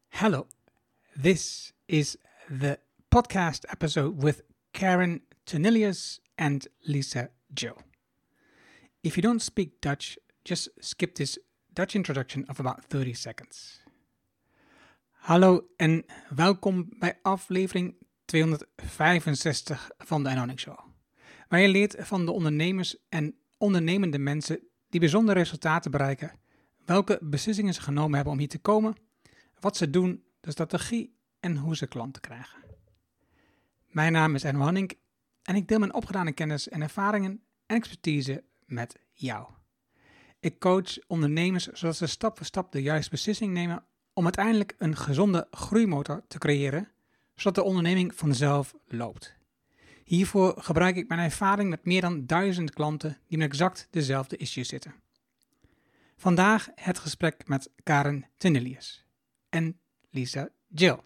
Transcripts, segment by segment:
Hello, this is the podcast episode with Karen Ternilius and Lisa Jill. If you don't speak Dutch, just skip this Dutch introduction of about 30 seconds. Hallo en welkom bij aflevering 265 van de Anonic Show, waar je leert van de ondernemers en ondernemende mensen die bijzondere resultaten bereiken, welke beslissingen ze genomen hebben om hier te komen, wat ze doen, de strategie en hoe ze klanten krijgen. Mijn naam is Erno Hanning en ik deel mijn opgedane kennis en ervaringen en expertise met jou. Ik coach ondernemers zodat ze stap voor stap de juiste beslissing nemen om uiteindelijk een gezonde groeimotor te creëren, zodat de onderneming vanzelf loopt. Hiervoor gebruik ik mijn ervaring met meer dan 1000 klanten die met exact dezelfde issues zitten. Vandaag het gesprek met Karen Ternilius en Lisa Jill.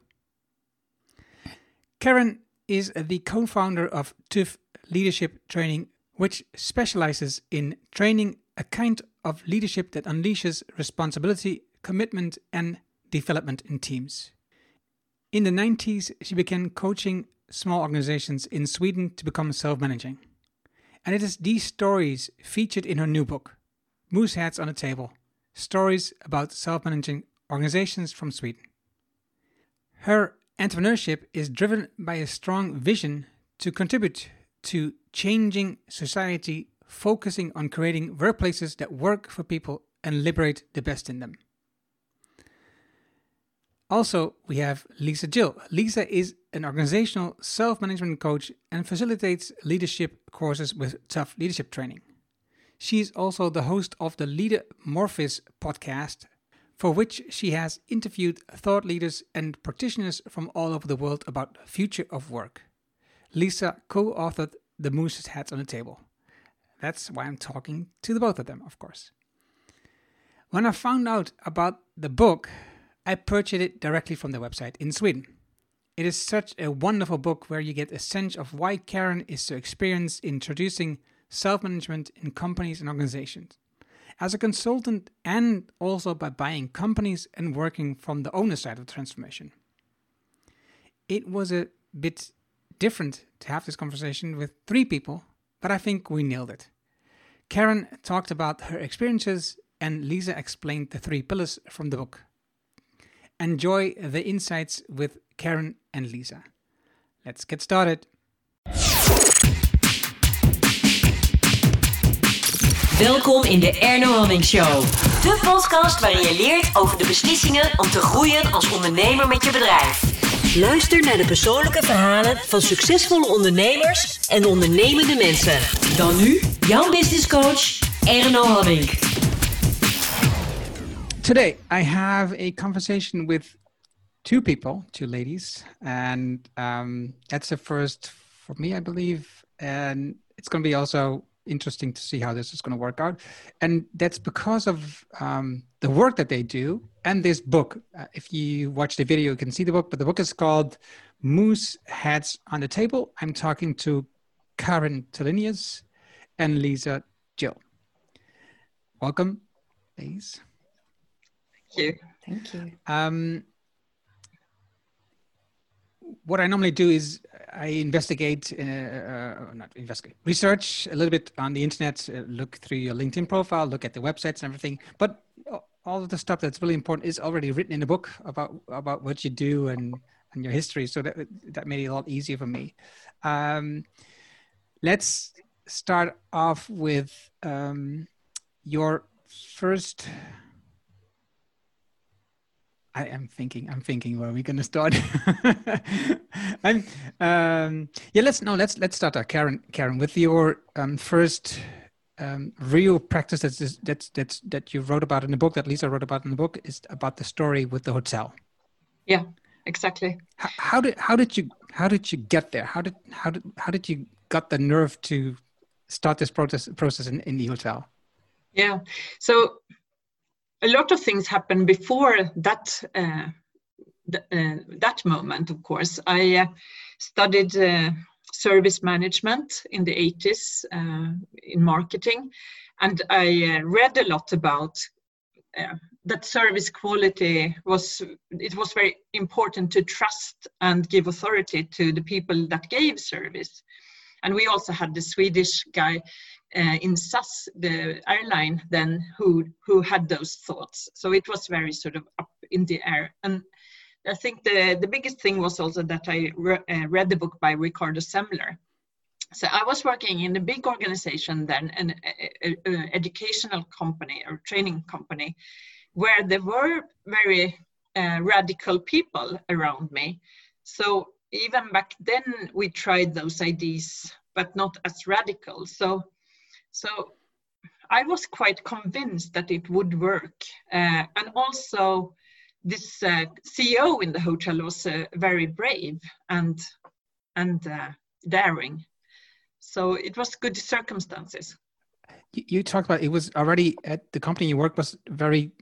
Karen is the co-founder of TUF Leadership Training, which specializes in training a kind of leadership that unleashes responsibility, commitment, and development in teams. In the 90s, she began coaching small organizations in Sweden to become self-managing. And it is these stories featured in her new book, Moose Heads on the Table, Stories about Self-Managing Organizations from Sweden. Her entrepreneurship is driven by a strong vision to contribute to changing society, focusing on creating workplaces that work for people and liberate the best in them. Also, we have Lisa Jill. Lisa is an organizational self-management coach and facilitates leadership courses with TUF Leadership Training. She is also the host of the Leader Morphis podcast, for which she has interviewed thought leaders and practitioners from all over the world about the future of work. Lisa co-authored The Moose's Heads on the Table. That's why I'm talking to the both of them, of course. When I found out about the book, I purchased it directly from their website in Sweden. It is such a wonderful book where you get a sense of why Karen is so experienced in introducing self-management in companies and organizations, as a consultant and also by buying companies and working from the owner side of the transformation. It was a bit different to have this conversation with 3 people, but I think we nailed it. Karen talked about her experiences and Lisa explained the 3 pillars from the book. Enjoy the insights with Karen and Lisa. Let's get started. Welkom in de Erno Hanning Show. De podcast waarin je leert over de beslissingen om te groeien als ondernemer met je bedrijf. Luister naar de persoonlijke verhalen van succesvolle ondernemers en ondernemende mensen. Dan nu, jouw business coach, Erno Hanning. Today, I have a conversation with 2 people, 2 ladies, and that's the first for me, I believe, and it's going to be also interesting to see how this is going to work out. And that's because of the work that they do and this book. If you watch the video, you can see the book, but the book is called Moose Heads on the Table. I'm talking to Karen Ternilius and Lisa Jill. Welcome, ladies. Thank you. What I normally do is I research a little bit on the internet, look through your LinkedIn profile, look at the websites and everything. But all of the stuff that's really important is already written in the book about what you do and your history. So that made it a lot easier for me. Let's start off with your first. I'm thinking where are we going to start? Let's start there, Karen, with your first real practice that you wrote about in the book, that Lisa wrote about in the book, is about the story with the hotel. Yeah, exactly. How did you get there? How did you got the nerve to start this process in the hotel? Yeah, so a lot of things happened before that that moment. Of course, I studied service management in the 80s in marketing, and I read a lot about that service quality was very important to trust and give authority to the people that gave service. And we also had the Swedish guy in SAS, the airline then, who had those thoughts. So it was very sort of up in the air. And I think the biggest thing was also that I read the book by Ricardo Semler. So I was working in a big organization then, an educational company or training company, where there were very radical people around me. So even back then we tried those ideas, but not as radical. So I was quite convinced that it would work. And also this CEO in the hotel was very brave and daring. So it was good circumstances. You talked about it was already at the company you worked was very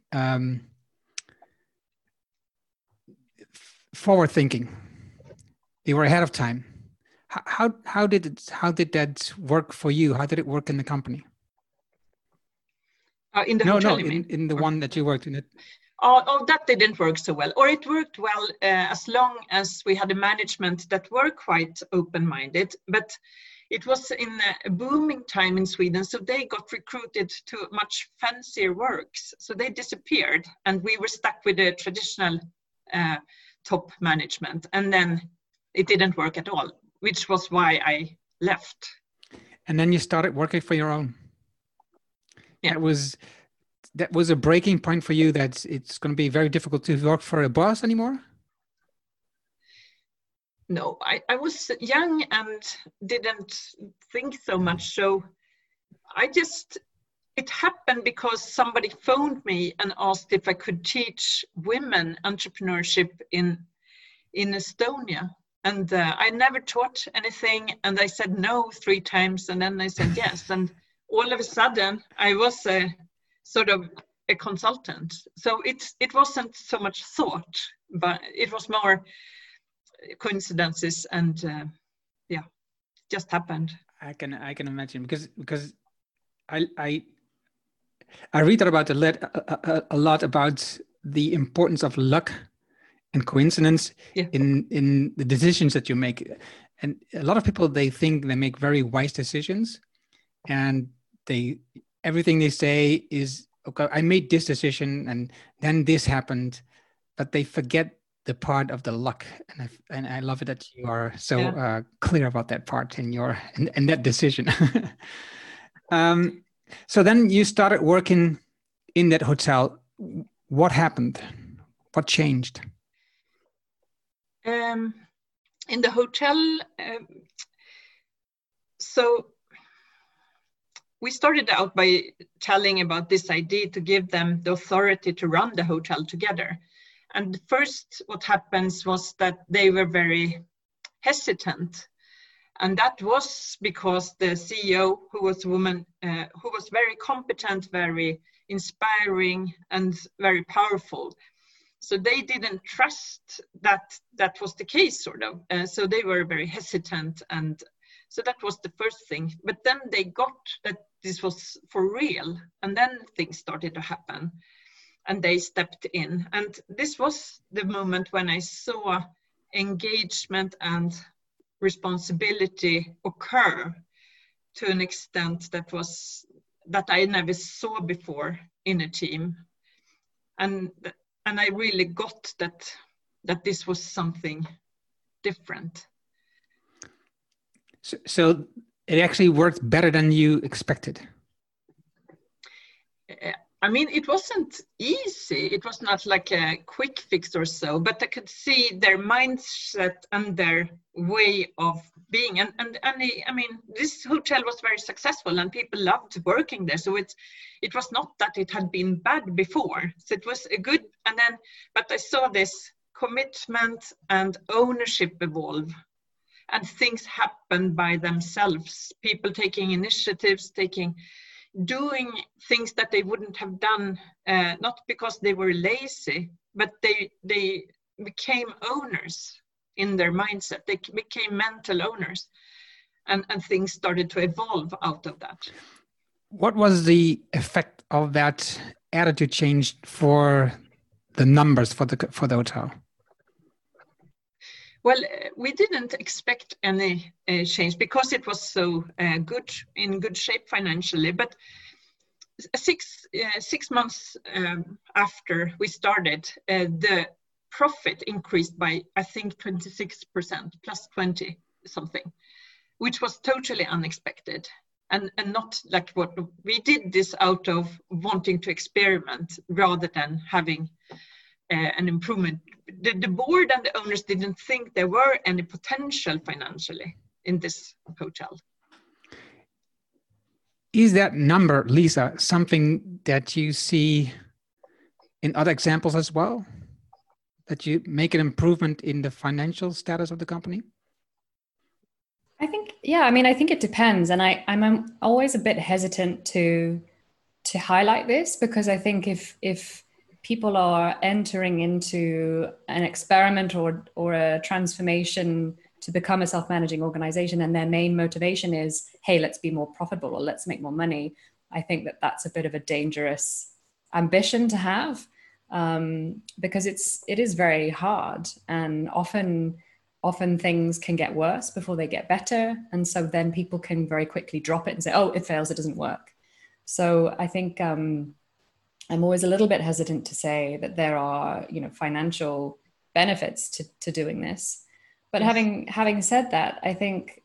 forward thinking. You were ahead of time. How did that work for you? How did it work in the company? In the hotel, in the one that you worked in. Oh, that didn't work so well. Or it worked well as long as we had a management that were quite open-minded. But it was in a booming time in Sweden, so they got recruited to much fancier works. So they disappeared, and we were stuck with the traditional top management. And then it didn't work at all, which was why I left. And then you started working for your own. Yeah. That was a breaking point for you, that it's going to be very difficult to work for a boss anymore? No, I was young and didn't think so much. So it happened because somebody phoned me and asked if I could teach women entrepreneurship in Estonia. And I never taught anything. And I said no 3 times. And then I said yes. And all of a sudden I was sort of a consultant. So it wasn't so much thought, but it was more coincidences, and just happened. I can imagine, because I read about a lot about the importance of luck and coincidence in the decisions that you make. And a lot of people, they think they make very wise decisions, and everything they say is, okay, I made this decision and then this happened, but they forget the part of the luck. And I love it that you are so clear about that part in that decision. So then you started working in that hotel. What happened? What changed? In the hotel, so we started out by telling about this idea to give them the authority to run the hotel together. And first, what happens was that they were very hesitant. And that was because the CEO, who was a woman, who was very competent, very inspiring, and very powerful. So they didn't trust that was the case, sort of. So they were very hesitant. And so that was the first thing. But then they got that this was for real. And then things started to happen. And they stepped in. And this was the moment when I saw engagement and responsibility occur to an extent that I never saw before in a team. And I really got that this was something different. So it actually worked better than you expected. I mean, it wasn't easy. It was not like a quick fix or so, but I could see their mindset and their way of being. And I mean, this hotel was very successful and people loved working there. So it was not that it had been bad before. So it was a good, but I saw this commitment and ownership evolve, and things happen by themselves. People taking initiatives, doing things that they wouldn't have done, not because they were lazy, but they became owners in their mindset. They became mental owners, and things started to evolve out of that. What was the effect of that attitude changed for the numbers for the hotel? Well, we didn't expect any change because it was so in good shape financially. But 6 months after we started, the profit increased by, I think, 26%, plus 20 something, which was totally unexpected. And not like what we did this out of wanting to experiment rather than having an improvement. The board and the owners didn't think there were any potential financially in this hotel. Is that number, Lisa, something that you see in other examples as well? That you make an improvement in the financial status of the company? I think it depends. And I'm always a bit hesitant to highlight this, because I think if people are entering into an experiment or a transformation to become a self-managing organization, and their main motivation is, hey, let's be more profitable or let's make more money, I think that that's a bit of a dangerous ambition to have, because it is very hard, and often things can get worse before they get better. And so then people can very quickly drop it and say, oh, it fails, it doesn't work. So I think I'm always a little bit hesitant to say that there are, financial benefits to doing this. But yes. having said that, I think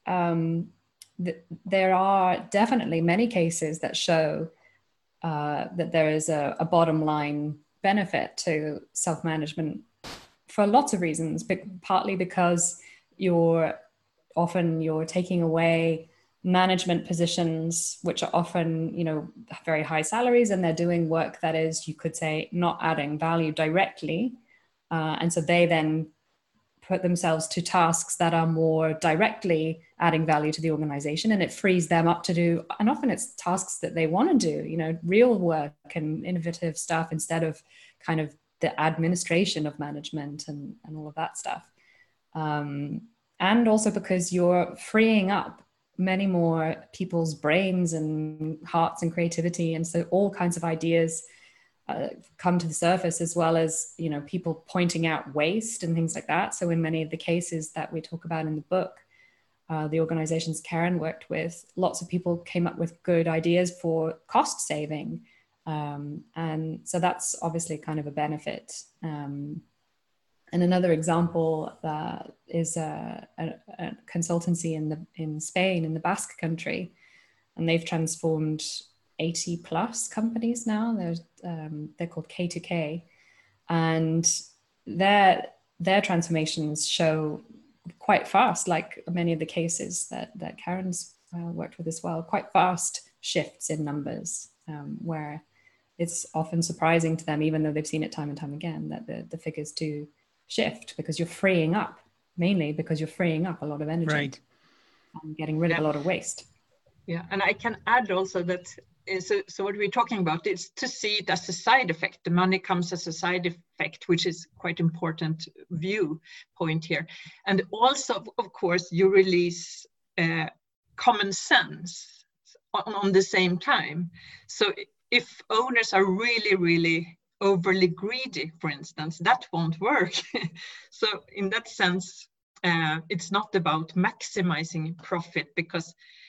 there are definitely many cases that show that there is a bottom line benefit to self-management for lots of reasons, but partly because you're taking away management positions, which are often, very high salaries, and they're doing work that is, you could say, not adding value directly. And so they then put themselves to tasks that are more directly adding value to the organization, and it frees them up to do, and often it's tasks that they want to do, real work and innovative stuff, instead of kind of the administration of management and all of that stuff. And also because you're freeing up many more people's brains and hearts and creativity. And so all kinds of ideas come to the surface, as well as, people pointing out waste and things like that. So in many of the cases that we talk about in the book, the organizations Karen worked with, lots of people came up with good ideas for cost saving. And so that's obviously kind of a benefit. And another example is a consultancy in Spain, in the Basque country, and they've transformed 80 plus companies now. They're called K2K, and their transformations show quite fast, like many of the cases that Karen's worked with as well, quite fast shifts in numbers, where it's often surprising to them, even though they've seen it time and time again, that the figures do shift, because you're freeing up a lot of energy, right, and getting rid of a lot of waste. Yeah, and I can add also that, so what we're talking about is to see it as a side effect. The money comes as a side effect, which is quite important viewpoint here. And also, of course, you release common sense on the same time. So if owners are really, really overly greedy, for instance, that won't work. So in that sense, it's not about maximizing profit, because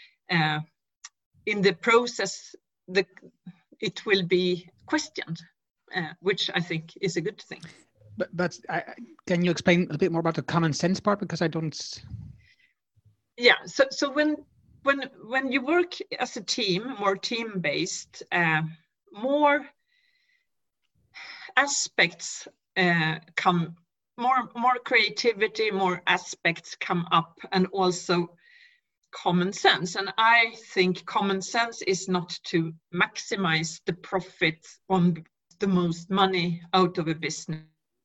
in the process, it will be questioned, which I think is a good thing. But can you explain a bit more about the common sense part? Because I don't. Yeah. So when you work as a team, more team-based, more aspects come, more creativity, more aspects come up, and also common sense. And I think common sense is not to maximize the profit on the most money out of a business.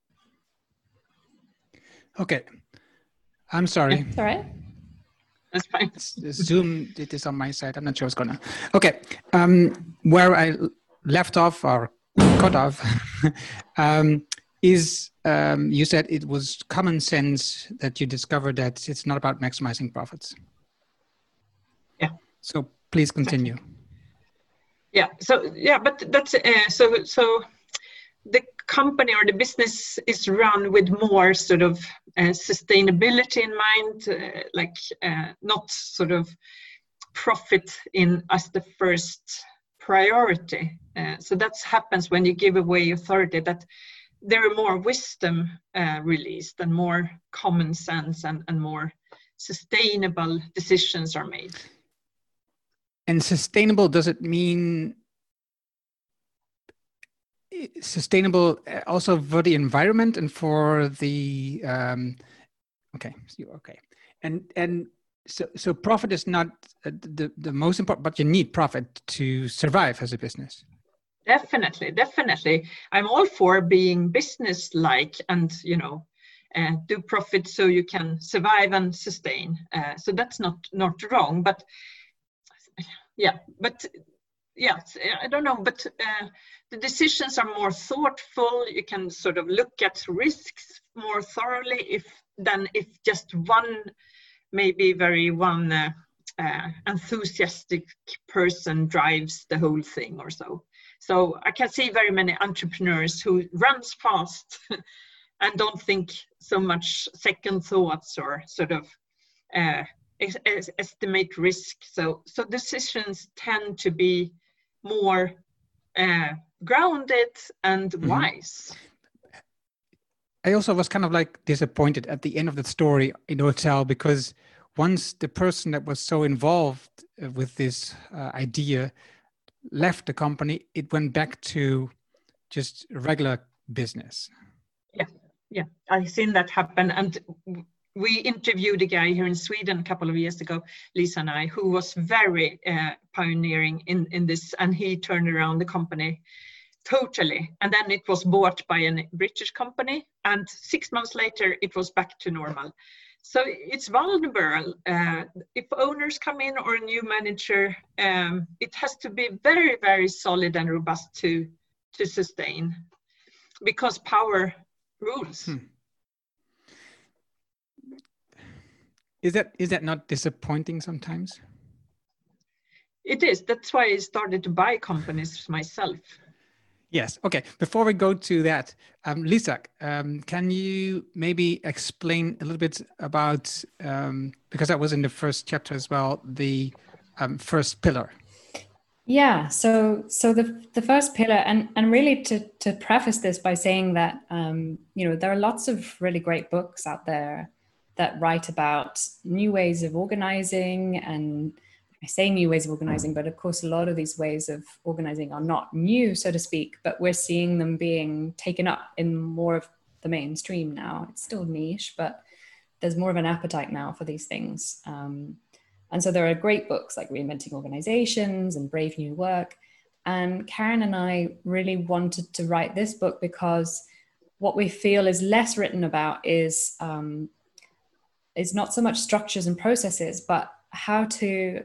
Okay. I'm sorry. It's all right. That's fine. Zoom did this on my side. I'm not sure what's going on. Okay. Where I left off or cut off is you said it was common sense that you discovered that it's not about maximizing profits. Yeah. So please continue. Yeah. So yeah, but that's so the company or the business is run with more sort of sustainability in mind, not sort of profit in as the first priority. So that happens when you give away authority, that there are more wisdom released and more common sense and more sustainable decisions are made. And sustainable, does it mean sustainable also for the environment and for the okay. And so profit is not the most important, but you need profit to survive as a business. Definitely. I'm all for being business-like and, do profit so you can survive and sustain. So that's not wrong, but I don't know, but the decisions are more thoughtful. You can sort of look at risks more thoroughly than if just one enthusiastic person drives the whole thing or so. So I can see very many entrepreneurs who runs fast and don't think so much second thoughts or sort of estimate risk. So decisions tend to be more grounded and wise. I also was kind of like disappointed at the end of the story in the hotel, because once the person that was so involved with this idea left the company, it went back to just regular business. Yeah, I've seen that happen. And we interviewed a guy here in Sweden a couple of years ago, Lisa and I, who was very pioneering in this, and he turned around the company totally. And then it was bought by a British company, and 6 months later, it was back to normal. So it's vulnerable. If owners come in or a new manager, it has to be very, very solid and robust to sustain, because power rules. Is that not disappointing sometimes? It is. That's why I started to buy companies myself. Yes. Okay. Before we go to that, Lisa, can you maybe explain a little bit about, because that was in the first chapter as well, the first pillar? Yeah. So the first pillar, and really to preface this by saying that there are lots of really great books out there that write about new ways of organizing, and I say new ways of organizing, but of course, a lot of these ways of organizing are not new, so to speak, but we're seeing them being taken up in more of the mainstream now. It's still niche, but there's more of an appetite now for these things. And so there are great books like Reinventing Organizations and Brave New Work. And Karen and I really wanted to write this book because what we feel is less written about is not so much structures and processes, but how to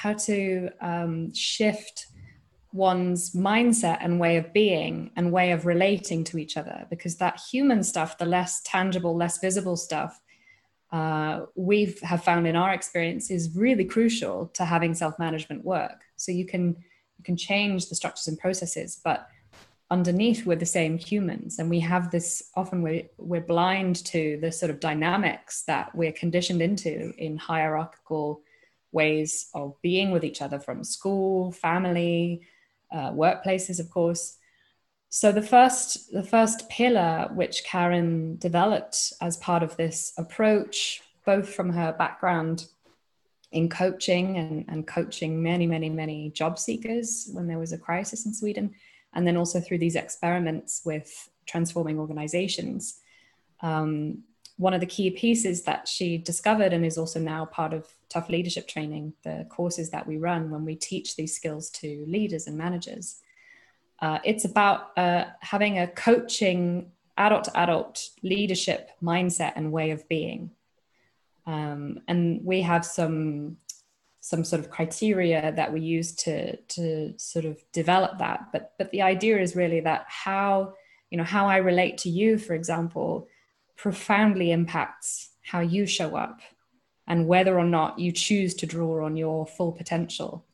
shift one's mindset and way of being and way of relating to each other, because that human stuff, the less tangible, less visible stuff, we have found in our experience is really crucial to having self-management work. So you can change the structures and processes, but underneath we're the same humans, and we have this, often we're blind to the sort of dynamics that we're conditioned into in hierarchical ways of being with each other, from school, family, workplaces, of course. So the first pillar, which Karen developed as part of this approach, both from her background in coaching and coaching many, many, many job seekers when there was a crisis in Sweden, and then also through these experiments with transforming organizations. One of the key pieces that she discovered, and is also now part of Tough Leadership Training, the courses that we run when we teach these skills to leaders and managers, it's about having a coaching adult-to-adult leadership mindset and way of being. And we have some sort of criteria that we use to sort of develop that. But the idea is really that how I relate to you, for example, profoundly impacts how you show up and whether or not you choose to draw on your full potential.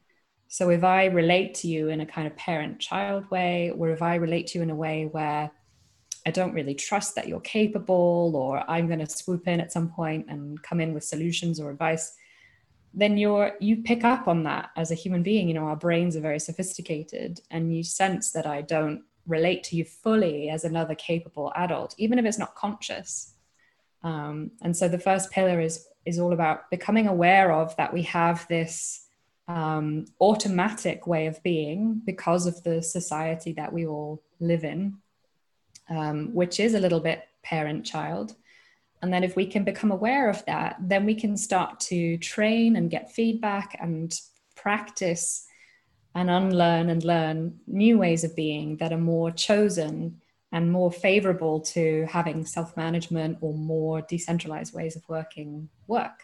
So if I relate to you in a kind of parent-child way, or if I relate to you in a way where I don't really trust that you're capable, or I'm going to swoop in at some point and come in with solutions or advice, then you pick up on that as a human being. You know, our brains are very sophisticated, and you sense that I don't relate to you fully as another capable adult, even if it's not conscious. And so the first pillar is all about becoming aware of that we have this automatic way of being because of the society that we all live in, which is a little bit parent-child. And then if we can become aware of that, then we can start to train and get feedback and practice and unlearn and learn new ways of being that are more chosen and more favorable to having self-management or more decentralized ways of work.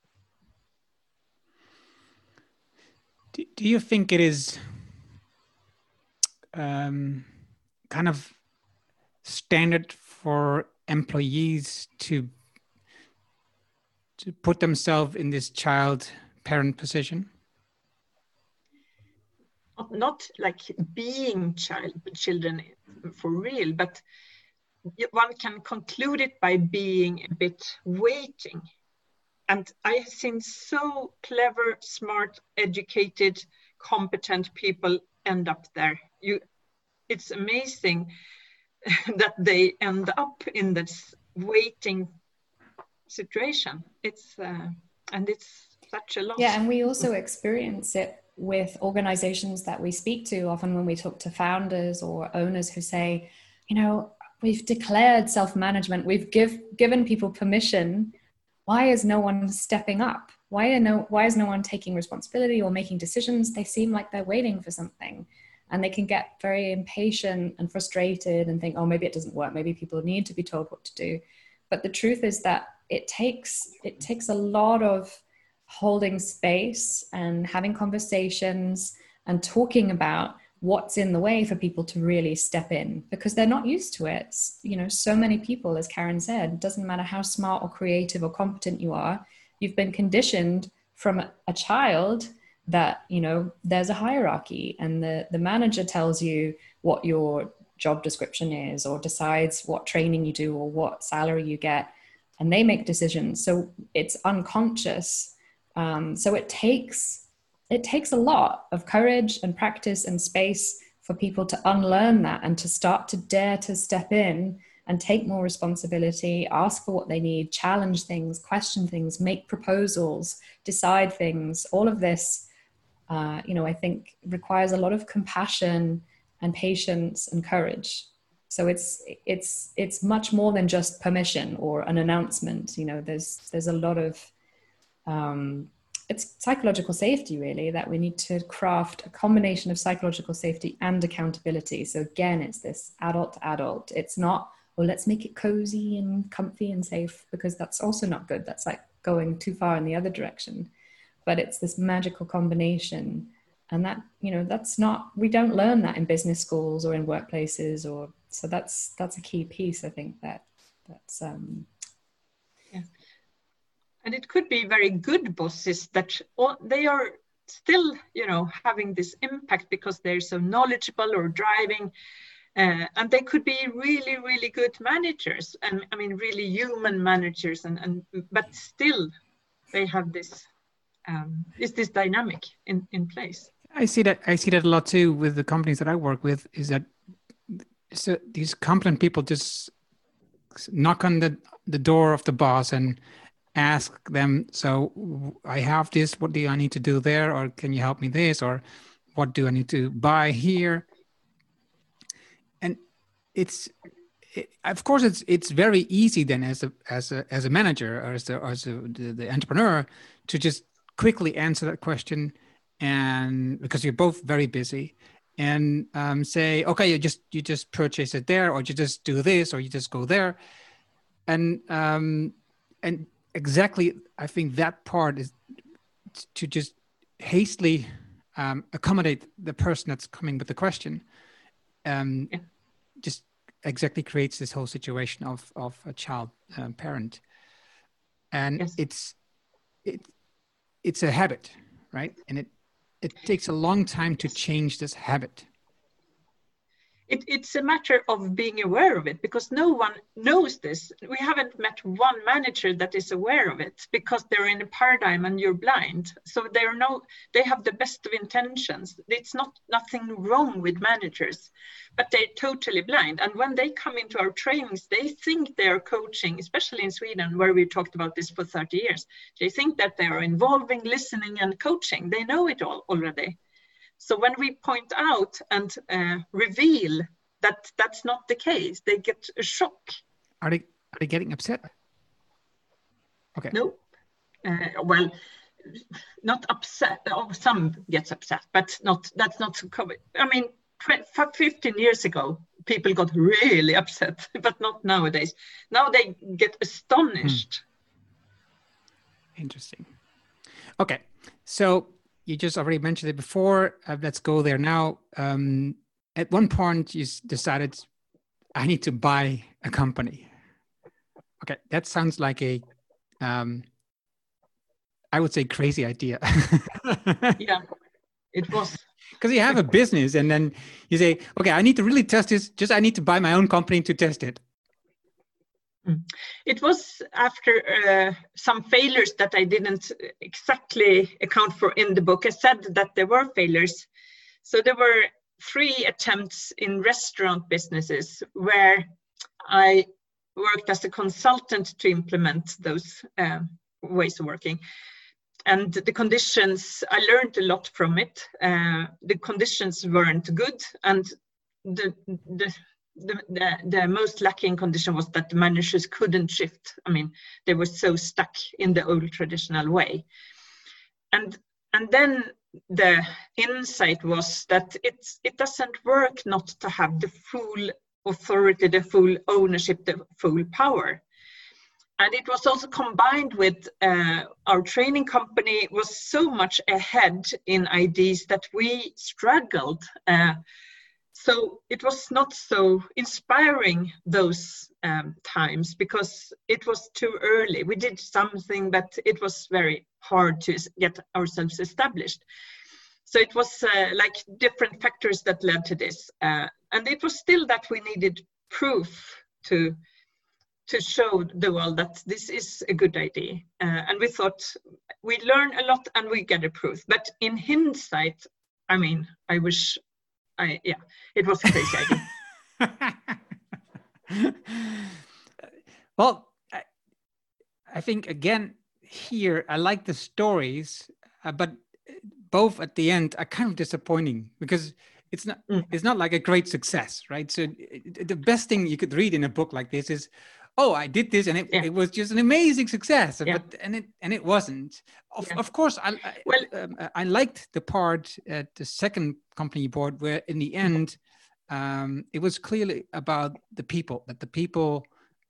Do you think it is kind of standard for employees to put themselves in this child-parent position? Not like being children for real, but one can conclude it by being a bit waiting. And I have seen so clever, smart, educated, competent people end up there. It's amazing that they end up in this waiting situation. It's such a loss. Yeah, and we also experience it with organizations that we speak to often when we talk to founders or owners who say, you know, we've declared self-management, we've given people permission. Why is no one stepping up? Why is no one taking responsibility or making decisions? They seem like they're waiting for something. And they can get very impatient and frustrated and think, oh, maybe it doesn't work. Maybe people need to be told what to do. But the truth is that it takes a lot of holding space and having conversations and talking about what's in the way for people to really step in, because they're not used to it. You know, so many people, as Karen said, it doesn't matter how smart or creative or competent you are, you've been conditioned from a child that, you know, there's a hierarchy and the manager tells you what your job description is or decides what training you do or what salary you get, and they make decisions. So it's unconscious. So it takes a lot of courage and practice and space for people to unlearn that and to start to dare to step in and take more responsibility, ask for what they need, challenge things, question things, make proposals, decide things. All of this, you know, I think requires a lot of compassion and patience and courage. So it's much more than just permission or an announcement. You know, there's a lot of it's psychological safety, really, that we need to craft a combination of psychological safety and accountability. So again, it's this adult to adult. It's not, well, let's make it cozy and comfy and safe, because that's also not good. That's like going too far in the other direction. But it's this magical combination. And that, you know, that's not, we don't learn that in business schools or in workplaces, or, so that's a key piece, I think, that's yeah. And it could be very good bosses that they are still, you know, having this impact because they're so knowledgeable or driving, and they could be really, really good managers, and I mean really human managers, and but still they have this this dynamic in place. I see that a lot too with the companies that I work with, is that so these competent people just knock on the door of the boss and ask them, so I have this, what do I need to do there? Or can you help me this? Or what do I need to buy here? And of course it's very easy then as a manager or as the entrepreneur to just quickly answer that question, and because you're both very busy, and say, okay, you just purchase it there, or you just do this, or you just go there, and exactly, I think that part is to just hastily accommodate the person that's coming with the question. Just exactly creates this whole situation of a child parent, and yes. it's a habit, right? And it takes a long time to change this habit. It's a matter of being aware of it, because no one knows this. We haven't met one manager that is aware of it, because they're in a paradigm and you're blind. So they have the best of intentions. It's nothing wrong with managers, but they're totally blind. And when they come into our trainings, they think they're coaching, especially in Sweden, where we talked about this for 30 years. They think that they are involving, listening, and coaching. They know it all already. So when we point out and reveal that that's not the case, they get a shock. Are they getting upset? Okay. No. Well, not upset. Oh, some gets upset, but that's not so common. I mean, 15 years ago, people got really upset, but not nowadays. Now they get astonished. Interesting. Okay, so you just already mentioned it before. Let's go there now. At one point, you decided, I need to buy a company. Okay, that sounds like a, I would say, crazy idea. Yeah, it was. Because you have a business and then you say, okay, I need to really test this. I need to buy my own company to test it. It was after some failures that I didn't exactly account for in the book. I said that there were failures. So there were 3 attempts in restaurant businesses where I worked as a consultant to implement those ways of working. And the conditions, I learned a lot from it. The conditions weren't good, and the most lacking condition was that the managers couldn't shift. I mean, they were so stuck in the old traditional way. And then the insight was that it doesn't work not to have the full authority, the full ownership, the full power. And it was also combined with our training company was so much ahead in ideas that we struggled. So it was not so inspiring those times, because it was too early. We did something, but it was very hard to get ourselves established. So it was like different factors that led to this. And it was still that we needed proof to show the world that this is a good idea. And we thought we learn a lot and we get a proof. But in hindsight, I mean, I wish it was a crazy idea. Well, I think again here, I like the stories, but both at the end are kind of disappointing, because it's not like a great success, right? So the best thing you could read in a book like this is, oh, I did this and it was just an amazing success, but it wasn't. Of course, I liked the part at the second company you bought, where in the end, it was clearly about the people, that the people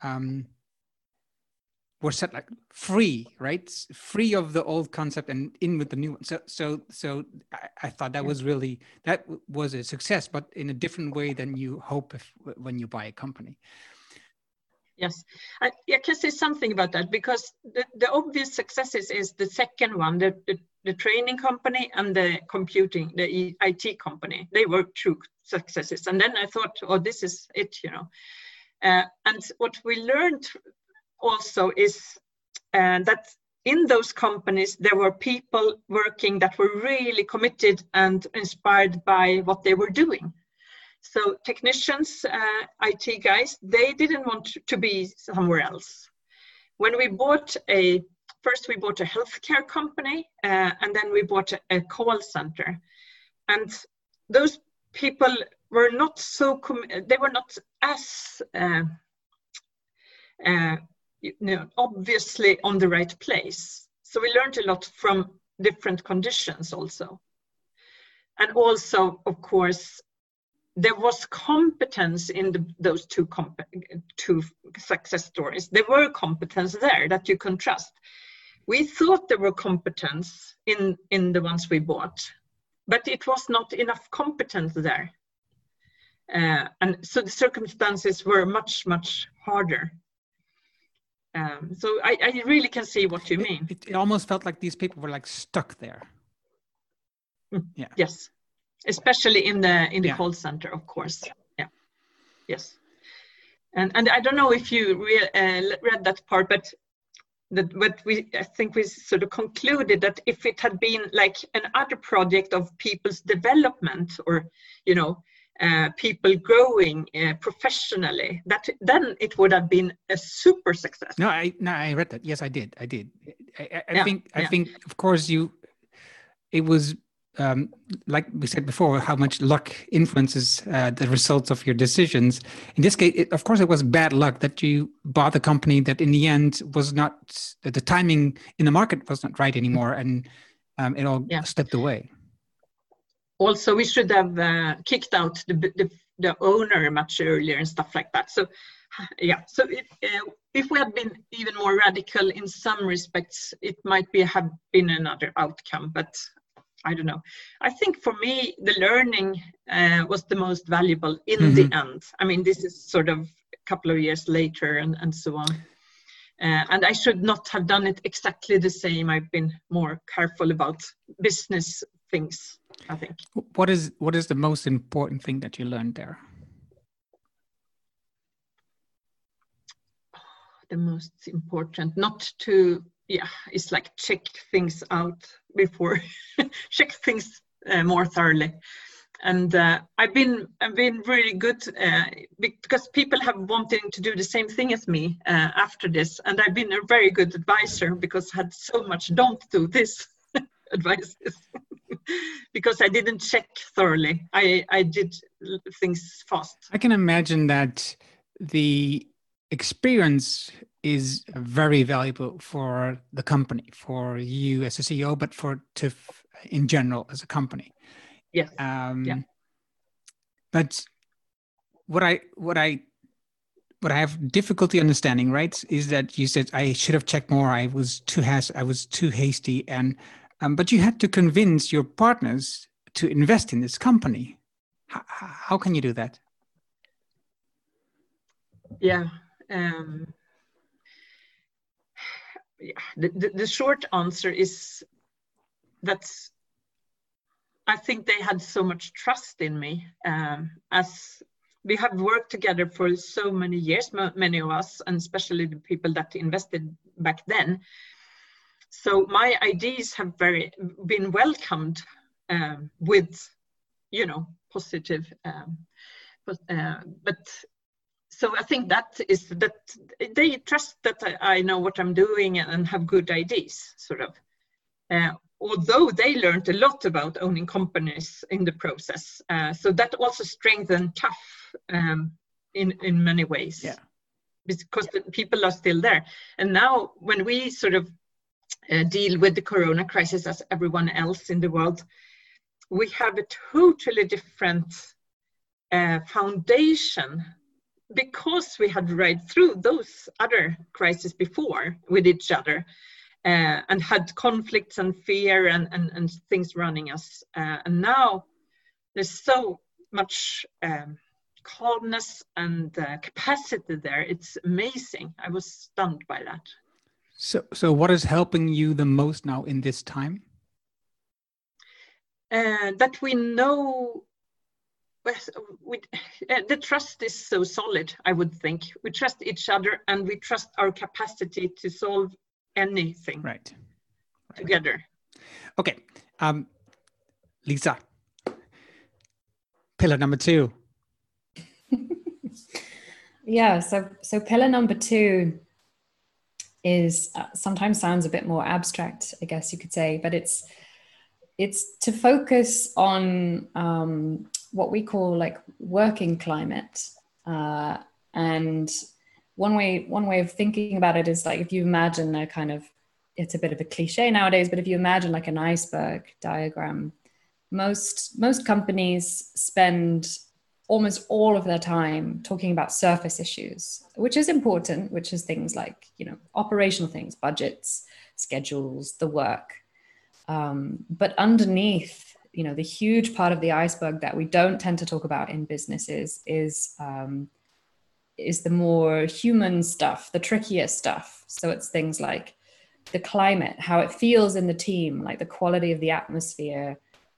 were set like free, right? Free of the old concept and in with the new one. So I thought that was a success, but in a different way than you hope when you buy a company. Yes, I can say something about that, because the obvious successes is the second one, the training company and the IT company. They were true successes. And then I thought, oh, this is it, you know. And what we learned also is that in those companies, there were people working that were really committed and inspired by what they were doing. So technicians, IT guys, they didn't want to be somewhere else. When we bought first we bought a healthcare company, and then we bought a call center. And those people were not so, they were not as, obviously on the right place. So we learned a lot from different conditions also. And also, of course, there was competence in those two success stories. There were competence there that you can trust. We thought there were competence in the ones we bought, but it was not enough competence there. And so the circumstances were much, much harder. So I really can see what you mean. It almost felt like these people were like stuck there. Yeah. Yes, especially in the Yeah. call center, of course. Yeah. Yes. And I don't know if you read that part, but I think we sort of concluded that if it had been like another project of people's development, or people growing professionally, then it would have been a super success. No, I read that. Yes, I did. I Yeah, think, of course, it was, like we said before, how much luck influences the results of your decisions. In this case, of course, it was bad luck that you bought a company that in the end was not, the timing in the market was not right anymore, and it all slipped away. Also, we should have kicked out the owner much earlier and stuff like that. So, yeah. So if we had been even more radical in some respects, it might have been another outcome. But I don't know. I think for me, the learning was the most valuable in the end. I mean, this is sort of a couple of years later and so on. And I should not have done it exactly the same. I've been more careful about business things, I think. What is the most important thing that you learned there? The most important, not to, it's like check things out before, check things more thoroughly. And I've been really good because people have wanted to do the same thing as me after this, and I've been a very good advisor because I had so much don't do this advices because I didn't check thoroughly. I did things fast. I can imagine that the experience is very valuable for the company, for you as a CEO, but for TÜV in general as a company. Yes. But what I have difficulty understanding, right, is that you said I should have checked more. I was too hasty, and but you had to convince your partners to invest in this company. How can you do that? Yeah. The short answer is that I think they had so much trust in me, as we have worked together for so many years, many of us, and especially the people that invested back then. So my ideas have been welcomed with, positive. But so I think that is that they trust that I know what I'm doing and have good ideas, sort of. Although they learned a lot about owning companies in the process. So that also strengthened TÜV in many ways. Yeah. Because the people are still there. And now when we sort of deal with the corona crisis as everyone else in the world, we have a totally different foundation, because we had ride through those other crises before with each other. And had conflicts and fear and things running us. And now there's so much calmness and capacity there. It's amazing. I was stunned by that. So what is helping you the most now in this time? That we know, the trust is so solid, I would think. We trust each other and we trust our capacity to solve anything together. Okay. Lisa, pillar number 2. Yeah, so pillar number 2 is sometimes sounds a bit more abstract, I guess you could say, but it's to focus on what we call like working climate. And one way of thinking about it is like, if you imagine a kind of, it's a bit of a cliche nowadays, but if you imagine like an iceberg diagram, most companies spend almost all of their time talking about surface issues, which is important, which is things like, operational things, budgets, schedules, the work. But underneath, the huge part of the iceberg that we don't tend to talk about in businesses is the more human stuff, the trickier stuff. So it's things like the climate, how it feels in the team, like the quality of the atmosphere,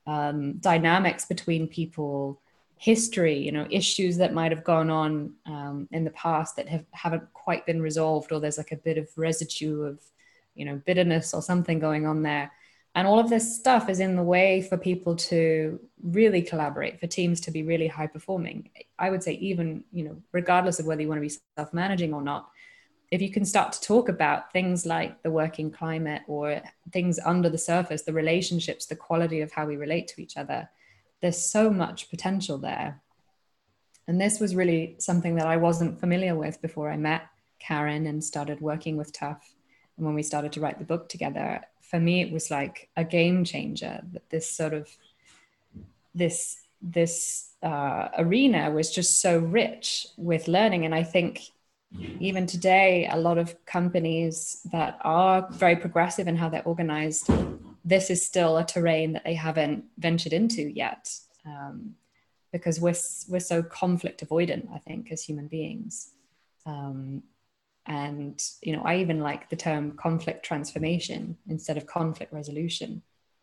dynamics between people, history, issues that might have gone on in the past that haven't quite been resolved, or there's like a bit of residue of, bitterness or something going on there. And all of this stuff is in the way for people to really collaborate, for teams to be really high performing. I would say even, regardless of whether you want to be self-managing or not, if you can start to talk about things like the working climate or things under the surface, the relationships, the quality of how we relate to each other, there's so much potential there. And this was really something that I wasn't familiar with before I met Karen and started working with Tough. And when we started to write the book together, for me, it was like a game changer. That this sort of, this arena was just so rich with learning. And I think even today, a lot of companies that are very progressive in how they're organized, this is still a terrain that they haven't ventured into yet, because we're so conflict avoidant, I think, as human beings. And, I even like the term conflict transformation instead of conflict resolution.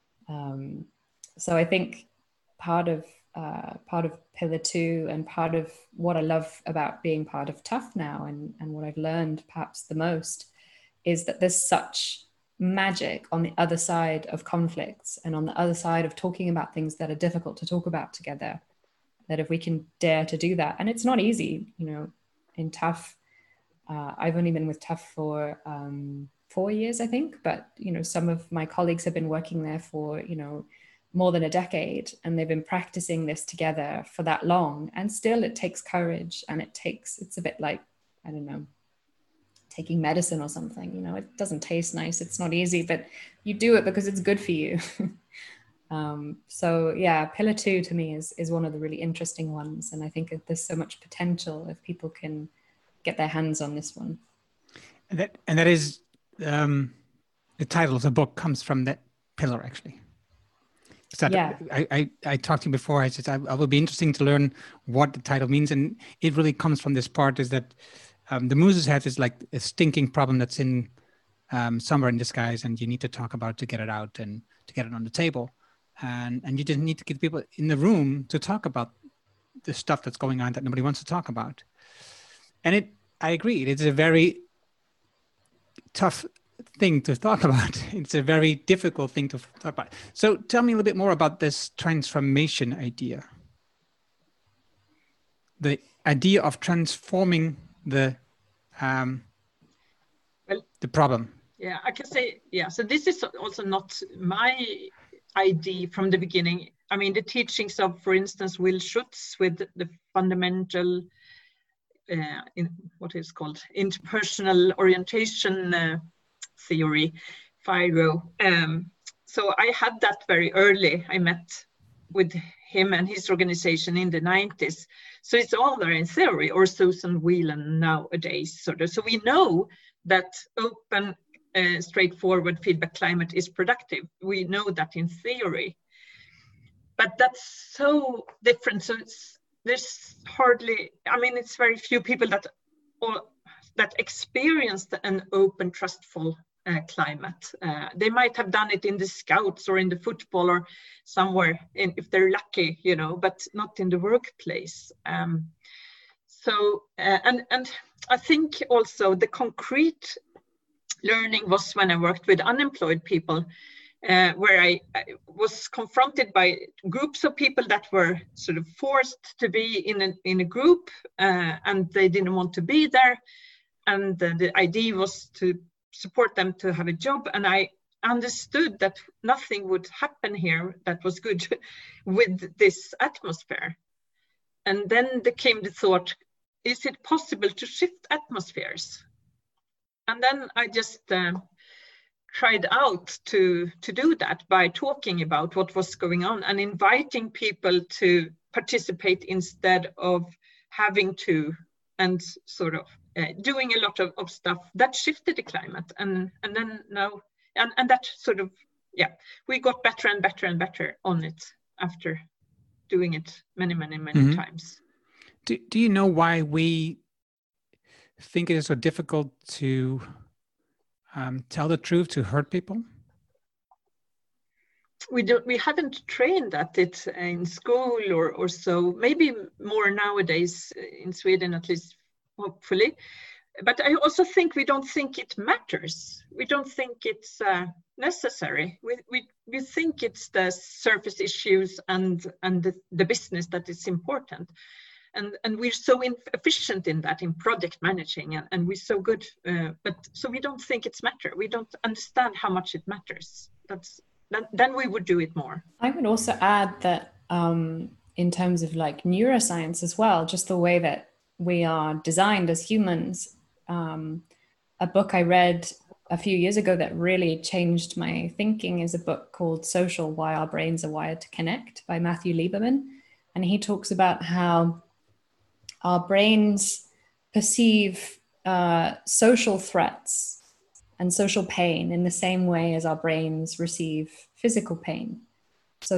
So I think part of Pillar 2 and part of what I love about being part of Tough now and what I've learned perhaps the most is that there's such magic on the other side of conflicts and on the other side of talking about things that are difficult to talk about together, that if we can dare to do that, and it's not easy, in Tough, I've only been with Tough for 4 years, I think, but, some of my colleagues have been working there for, more than a decade, and they've been practicing this together for that long. And still it takes courage, and it's a bit like, I don't know, taking medicine or something, it doesn't taste nice. It's not easy, but you do it because it's good for you. So yeah, Pillar 2 to me is one of the really interesting ones. And I think there's so much potential if people can get their hands on this one. And that is, the title of the book comes from that pillar, actually. So yeah. I talked to you before. I said I will be interesting to learn what the title means, and it really comes from this part: is that the Mooses have is like a stinking problem that's in somewhere in disguise, and you need to talk about it to get it out and to get it on the table, and you just need to get people in the room to talk about the stuff that's going on that nobody wants to talk about. And I agree, it's a very tough thing to talk about. It's a very difficult thing to talk about. So tell me a little bit more about this transformation idea. The idea of transforming the problem. Yeah, I can say, yeah. So this is also not my idea from the beginning. I mean, the teachings of, for instance, Will Schutz with the fundamental, in what is called interpersonal orientation theory, FIRO. So I had that very early. I met with him and his organization in the 90s. So it's all there in theory, or Susan Whelan nowadays. So we know that open, straightforward feedback climate is productive. We know that in theory. But that's so different. So there's hardly, I mean, it's very few people that experienced an open, trustful climate. They might have done it in the Scouts or in the football or somewhere, if they're lucky, but not in the workplace. And I think also the concrete learning was when I worked with unemployed people, where I was confronted by groups of people that were sort of forced to be in a group, and they didn't want to be there. And the idea was to support them to have a job. And I understood that nothing would happen here that was good with this atmosphere. And then there came the thought, is it possible to shift atmospheres? And then I just tried out to do that by talking about what was going on and inviting people to participate instead of having to, and sort of doing a lot of stuff that shifted the climate. And then now, and that sort of, yeah, we got better and better and better on it after doing it many mm-hmm. times. Do you know why we think it is so difficult to tell the truth, to hurt people? we haven't trained at it in school or so. Maybe more nowadays in Sweden, at least, hopefully. But I also think we don't think it matters. We don't think it's necessary. We think it's the surface issues and the business that is important. And we're so efficient in that, in project managing, and we're so good. But so we don't think it's matter. We don't understand how much it matters. Then we would do it more. I would also add that in terms of like neuroscience as well, just the way that we are designed as humans. A book I read a few years ago that really changed my thinking is a book called Social: Why Our Brains Are Wired to Connect by Matthew Lieberman. And he talks about how our brains perceive social threats and social pain in the same way as our brains receive physical pain. So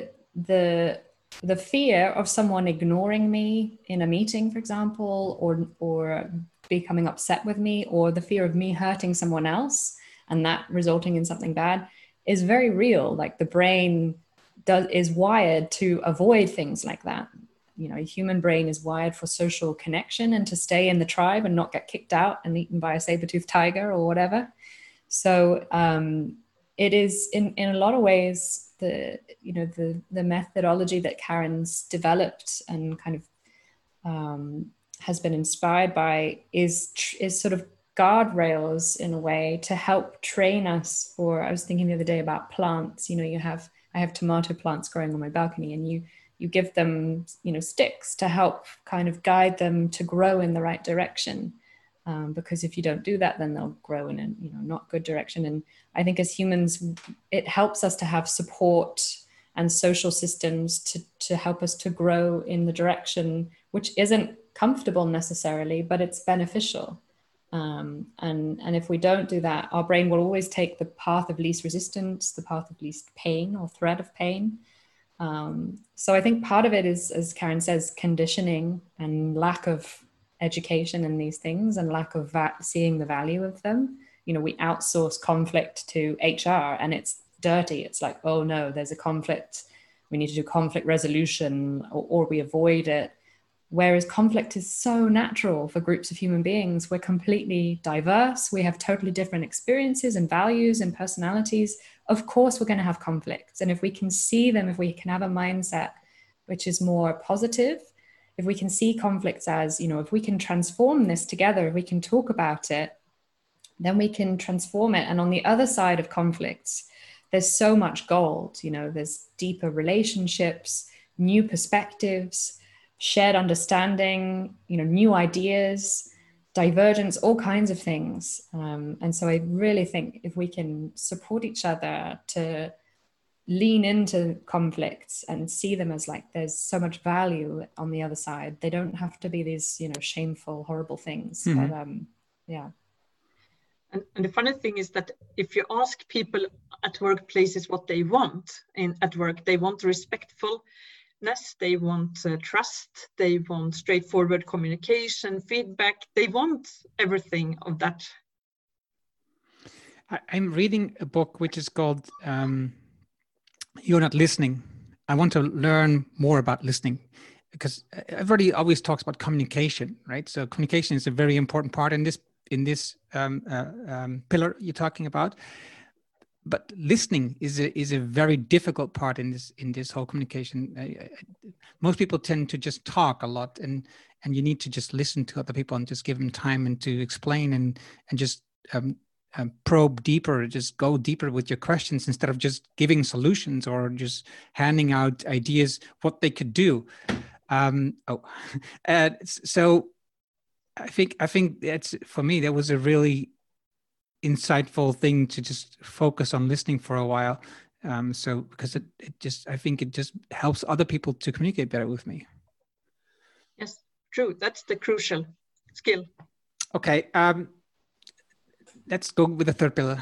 the fear of someone ignoring me in a meeting, for example, or becoming upset with me, or the fear of me hurting someone else and that resulting in something bad is very real. Like the brain is wired to avoid things like that. You know, a human brain is wired for social connection and to stay in the tribe and not get kicked out and eaten by a saber-toothed tiger or whatever. So it is in a lot of ways the methodology that Karen's developed and kind of has been inspired by is sort of guardrails in a way to help train us. Or I was thinking the other day about plants. You know, I have tomato plants growing on my balcony, and you give them, you know, sticks to help kind of guide them to grow in the right direction. Because if you don't do that, then they'll grow in a, you know, not good direction. And I think as humans, it helps us to have support and social systems to help us to grow in the direction which isn't comfortable necessarily, but it's beneficial. And if we don't do that, our brain will always take the path of least resistance, the path of least pain or threat of pain. So I think part of it is, as Karen says, conditioning and lack of education in these things and lack of seeing the value of them. You know, we outsource conflict to HR and it's dirty. It's like, oh no, there's a conflict. We need to do conflict resolution, or we avoid it. Whereas conflict is so natural for groups of human beings. We're completely diverse. We have totally different experiences and values and personalities. Of course, we're going to have conflicts. And if we can see them, if we can have a mindset which is more positive, if we can see conflicts as, you know, if we can transform this together, if we can talk about it, then we can transform it. And on the other side of conflicts, there's so much gold. You know, there's deeper relationships, new perspectives, shared understanding, you know, new ideas, divergence, all kinds of things. And so I really think if we can support each other to lean into conflicts and see them as like there's so much value on the other side, they don't have to be these, you know, shameful, horrible things. Mm-hmm. But yeah. And the funny thing is that if you ask people at workplaces what they want at work, they want respectfulness, they want trust, they want straightforward communication, feedback, they want everything of that. I'm reading a book which is called You're Not Listening. I want to learn more about listening, because everybody always talks about communication, right? So communication is a very important part in this pillar you're talking about. But listening is a very difficult part in this whole communication. Most people tend to just talk a lot, and you need to just listen to other people and just give them time and to explain and just probe deeper, just go deeper with your questions instead of just giving solutions or just handing out ideas what they could do. So I think that's, for me, that was a really insightful thing to just focus on listening for a while. So because I think it just helps other people to communicate better with me. Yes, true. That's the crucial skill. Okay. Let's go with the third pillar.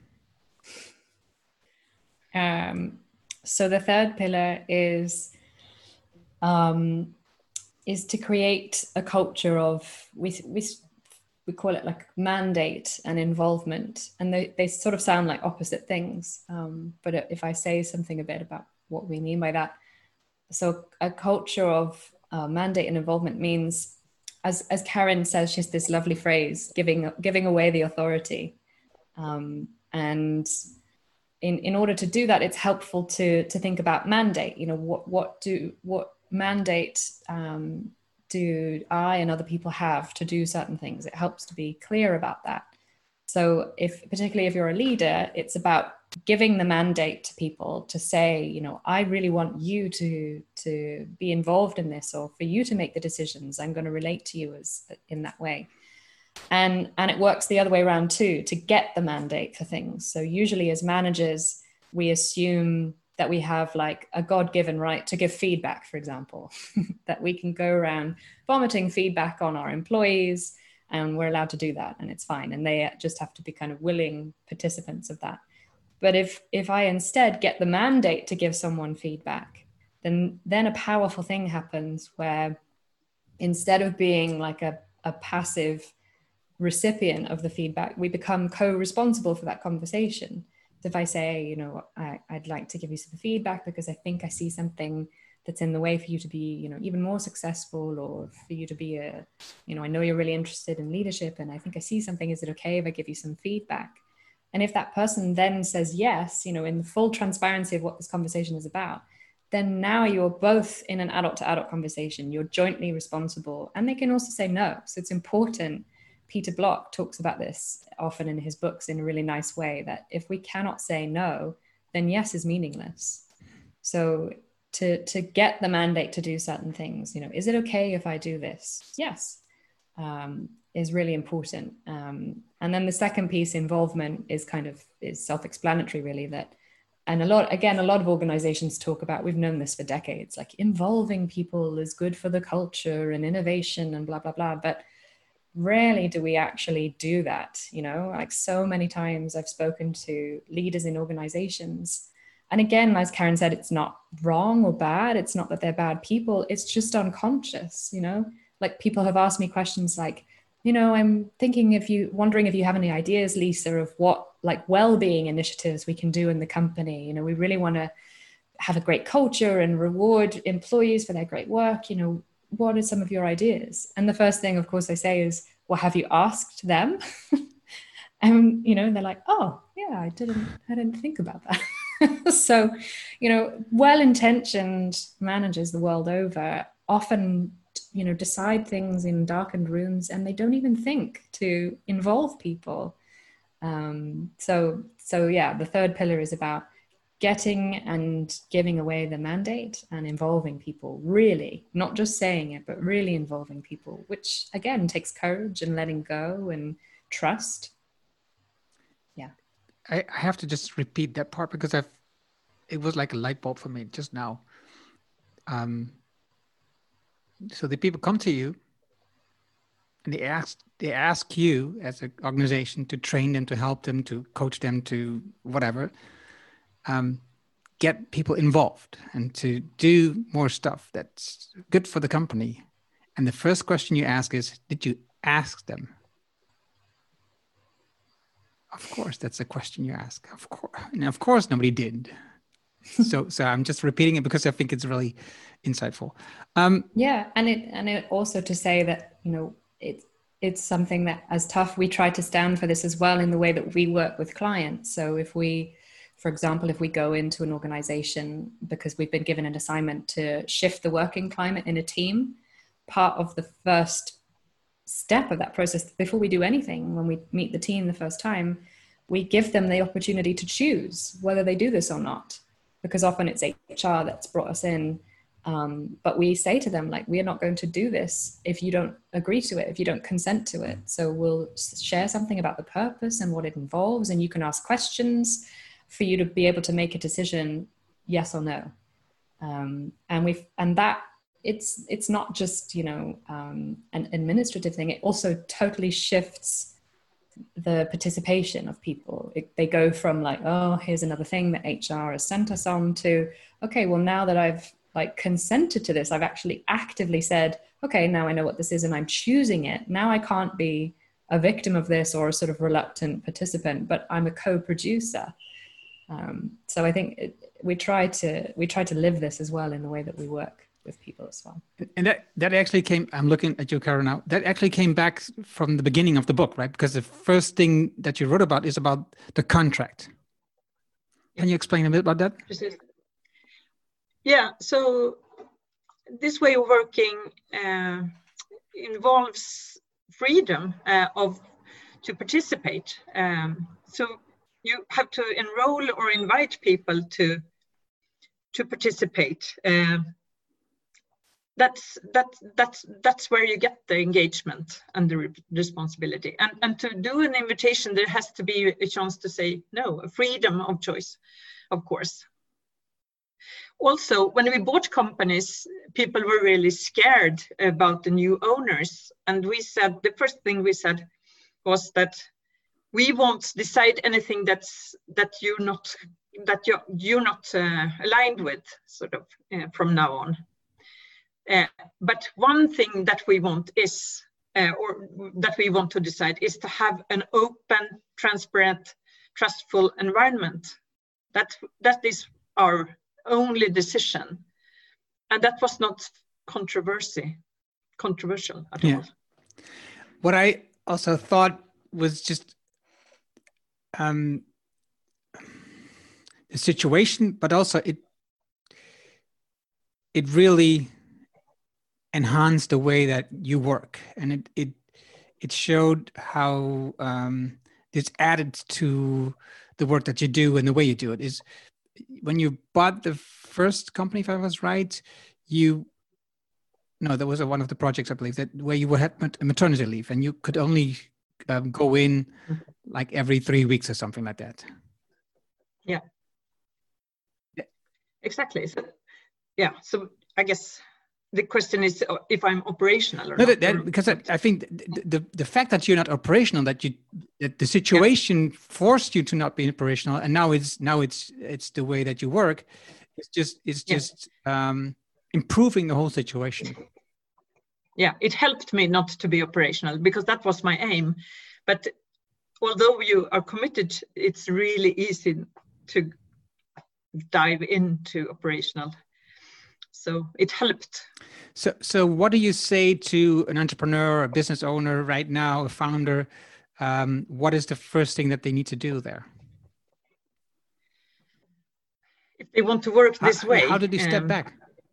So the third pillar is to create a culture of, we we call it like mandate and involvement, and they sort of sound like opposite things. But if I say something a bit about what we mean by that, so a culture of mandate and involvement means, as Karen says, she has this lovely phrase, giving away the authority. And in order to do that, it's helpful to think about mandate. You know, what mandate do I and other people have to do certain things? It helps to be clear about that. So particularly if you're a leader, it's about giving the mandate to people to say, you know, I really want you to be involved in this, or for you to make the decisions. I'm going to relate to you in that way. And it works the other way around too, to get the mandate for things. So usually as managers, we assume that we have like a God-given right to give feedback, for example, that we can go around vomiting feedback on our employees, and we're allowed to do that, and it's fine. And they just have to be kind of willing participants of that. But if I instead get the mandate to give someone feedback, then a powerful thing happens where instead of being like a passive recipient of the feedback, we become co-responsible for that conversation. So if I say, you know, I'd like to give you some feedback because I think I see something that's in the way for you to be, you know, even more successful, or for you to be you know, I know you're really interested in leadership and I think I see something. Is it okay if I give you some feedback? And if that person then says yes, you know, in the full transparency of what this conversation is about, then now you're both in an adult to adult conversation. You're jointly responsible, and they can also say no. So it's important. Peter Block talks about this often in his books in a really nice way, that if we cannot say no, then yes is meaningless. So to get the mandate to do certain things, you know, is it okay if I do this? Yes, is really important. And then the second piece, involvement, is self-explanatory really, that, and a lot of organizations talk about, we've known this for decades, like involving people is good for the culture and innovation and blah, blah, blah. But rarely do we actually do that. You know, like so many times I've spoken to leaders in organizations, and again, as Karen said, it's not wrong or bad. It's not that they're bad people. It's just unconscious, you know, like people have asked me questions like, you know, I'm wondering if you have any ideas, Lisa, of what like well-being initiatives we can do in the company. You know, we really want to have a great culture and reward employees for their great work. You know, what are some of your ideas? And the first thing, of course, I say is, well, have you asked them? And, you know, they're like, oh, yeah, I didn't think about that. So, you know, well-intentioned managers the world over often, you know, decide things in darkened rooms, and they don't even think to involve people. So yeah, the third pillar is about getting and giving away the mandate and involving people, really, not just saying it, but really involving people, which again takes courage and letting go and trust. Yeah. I have to just repeat that part because it was like a light bulb for me just now. So the people come to you and they ask you as an organization to train them, to help them, to coach them, to whatever, get people involved and to do more stuff that's good for the company. And the first question you ask is, did you ask them? Of course, that's a question you ask. Of course, and of course, nobody did. So I'm just repeating it because I think it's really insightful. Yeah, and it also to say that, you know, it's something that, as tough, we try to stand for this as well in the way that we work with clients. So if we, for example, if we go into an organization because we've been given an assignment to shift the working climate in a team, part of the first step of that process, before we do anything, when we meet the team the first time, we give them the opportunity to choose whether they do this or not, because often it's HR that's brought us in. But we say to them, like, we are not going to do this if you don't agree to it, if you don't consent to it. So we'll share something about the purpose and what it involves, and you can ask questions for you to be able to make a decision, yes or no. And that it's not just, you know, an administrative thing. It also totally shifts the participation of people. They go from like, oh, here's another thing that HR has sent us on, to, okay, well, now that I've like consented to this, I've actually actively said, okay, now I know what this is and I'm choosing it. Now I can't be a victim of this or a sort of reluctant participant, but I'm a co-producer. So I think we try to live this as well in the way that we work with people as well. And that actually came, I'm looking at you, Karen, now, that actually came back from the beginning of the book, right? Because the first thing that you wrote about is about the contract. Can you explain a bit about that? Yeah, so this way of working involves freedom to participate. So you have to enroll or invite people to participate. That's where you get the engagement and the responsibility. And to do an invitation, there has to be a chance to say no, a freedom of choice, of course. Also, when we bought companies, people were really scared about the new owners. And we said, the first thing we said was that we won't decide anything that you're not aligned with, sort of, from now on. But one thing that we want is, or that we want to decide, is to have an open, transparent, trustful environment. That is our only decision, and that was not controversial at all. What I also thought was just the situation, but also it really enhanced the way that you work, and it showed how it's added to the work that you do and the way you do it. Is when you bought the first company, if I was right, that was one of the projects, I believe, that where you had maternity leave and you could only go in like every 3 weeks or something like that. Yeah. Exactly. So I guess the question is if I'm operational or not. Because I think the fact that you're not operational, that the situation forced you to not be operational, and now it's the way that you work. It's just improving the whole situation. Yeah, it helped me not to be operational because that was my aim. But although you are committed, it's really easy to dive into operational. So it helped. So what do you say to an entrepreneur, a business owner right now, a founder? What is the first thing that they need to do there? If they want to work this way. How did they step back?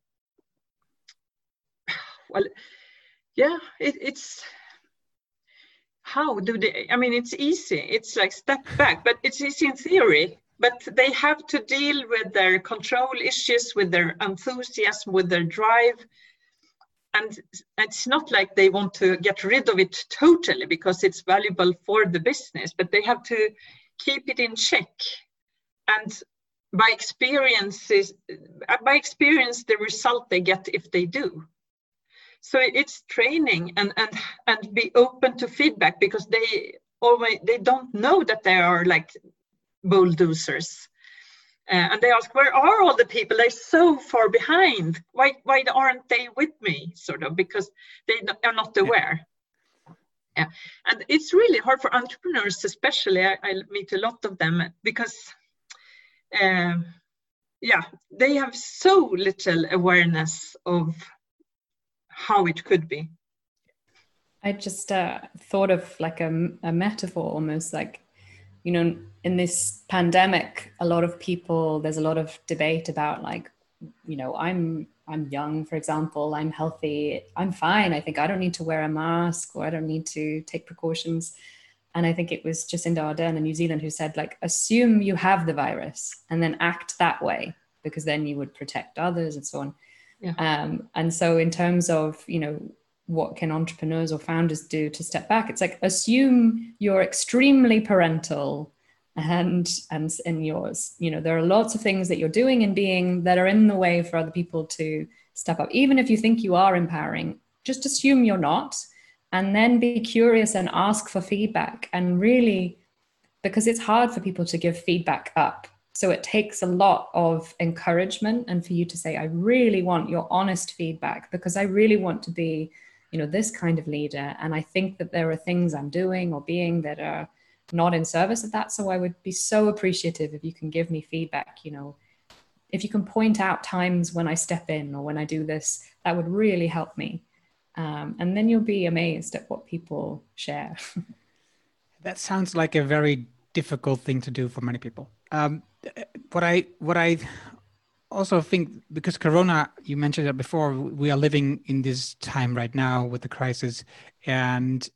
Well, yeah, it's how do they, I mean, it's easy. It's like step back, but it's easy in theory. But they have to deal with their control issues, with their enthusiasm, with their drive. And it's not like they want to get rid of it totally because it's valuable for the business, but they have to keep it in check. And by experience, the result they get if they do. So it's training and be open to feedback because they don't know that they are like bulldozers. And they ask, where are all the people? They're so far behind. Why aren't they with me? Sort of, because they are not aware. Yeah. And it's really hard for entrepreneurs, especially. I meet a lot of them because, they have so little awareness of how it could be. I just thought of like a metaphor, almost like, in this pandemic, there's a lot of debate about like, I'm young, for example, I'm healthy, I'm fine. I think I don't need to wear a mask or I don't need to take precautions. And I think it was Jacinda Ardern in New Zealand who said, like, assume you have the virus and then act that way, because then you would protect others and so on. Yeah. And so in terms of, what can entrepreneurs or founders do to step back? It's like, assume you're extremely parental and yours, there are lots of things that you're doing and being that are in the way for other people to step up. Even if you think you are empowering, just assume you're not, and then be curious and ask for feedback. And really, because it's hard for people to give feedback up. So it takes a lot of encouragement and for you to say, I really want your honest feedback because I really want to be, this kind of leader. And I think that there are things I'm doing or being that are not in service of that. So I would be so appreciative if you can give me feedback, if you can point out times when I step in or when I do this, that would really help me. And then you'll be amazed at what people share. That sounds like a very difficult thing to do for many people. What I also think, because Corona, you mentioned that before, we are living in this time right now with the crisis, and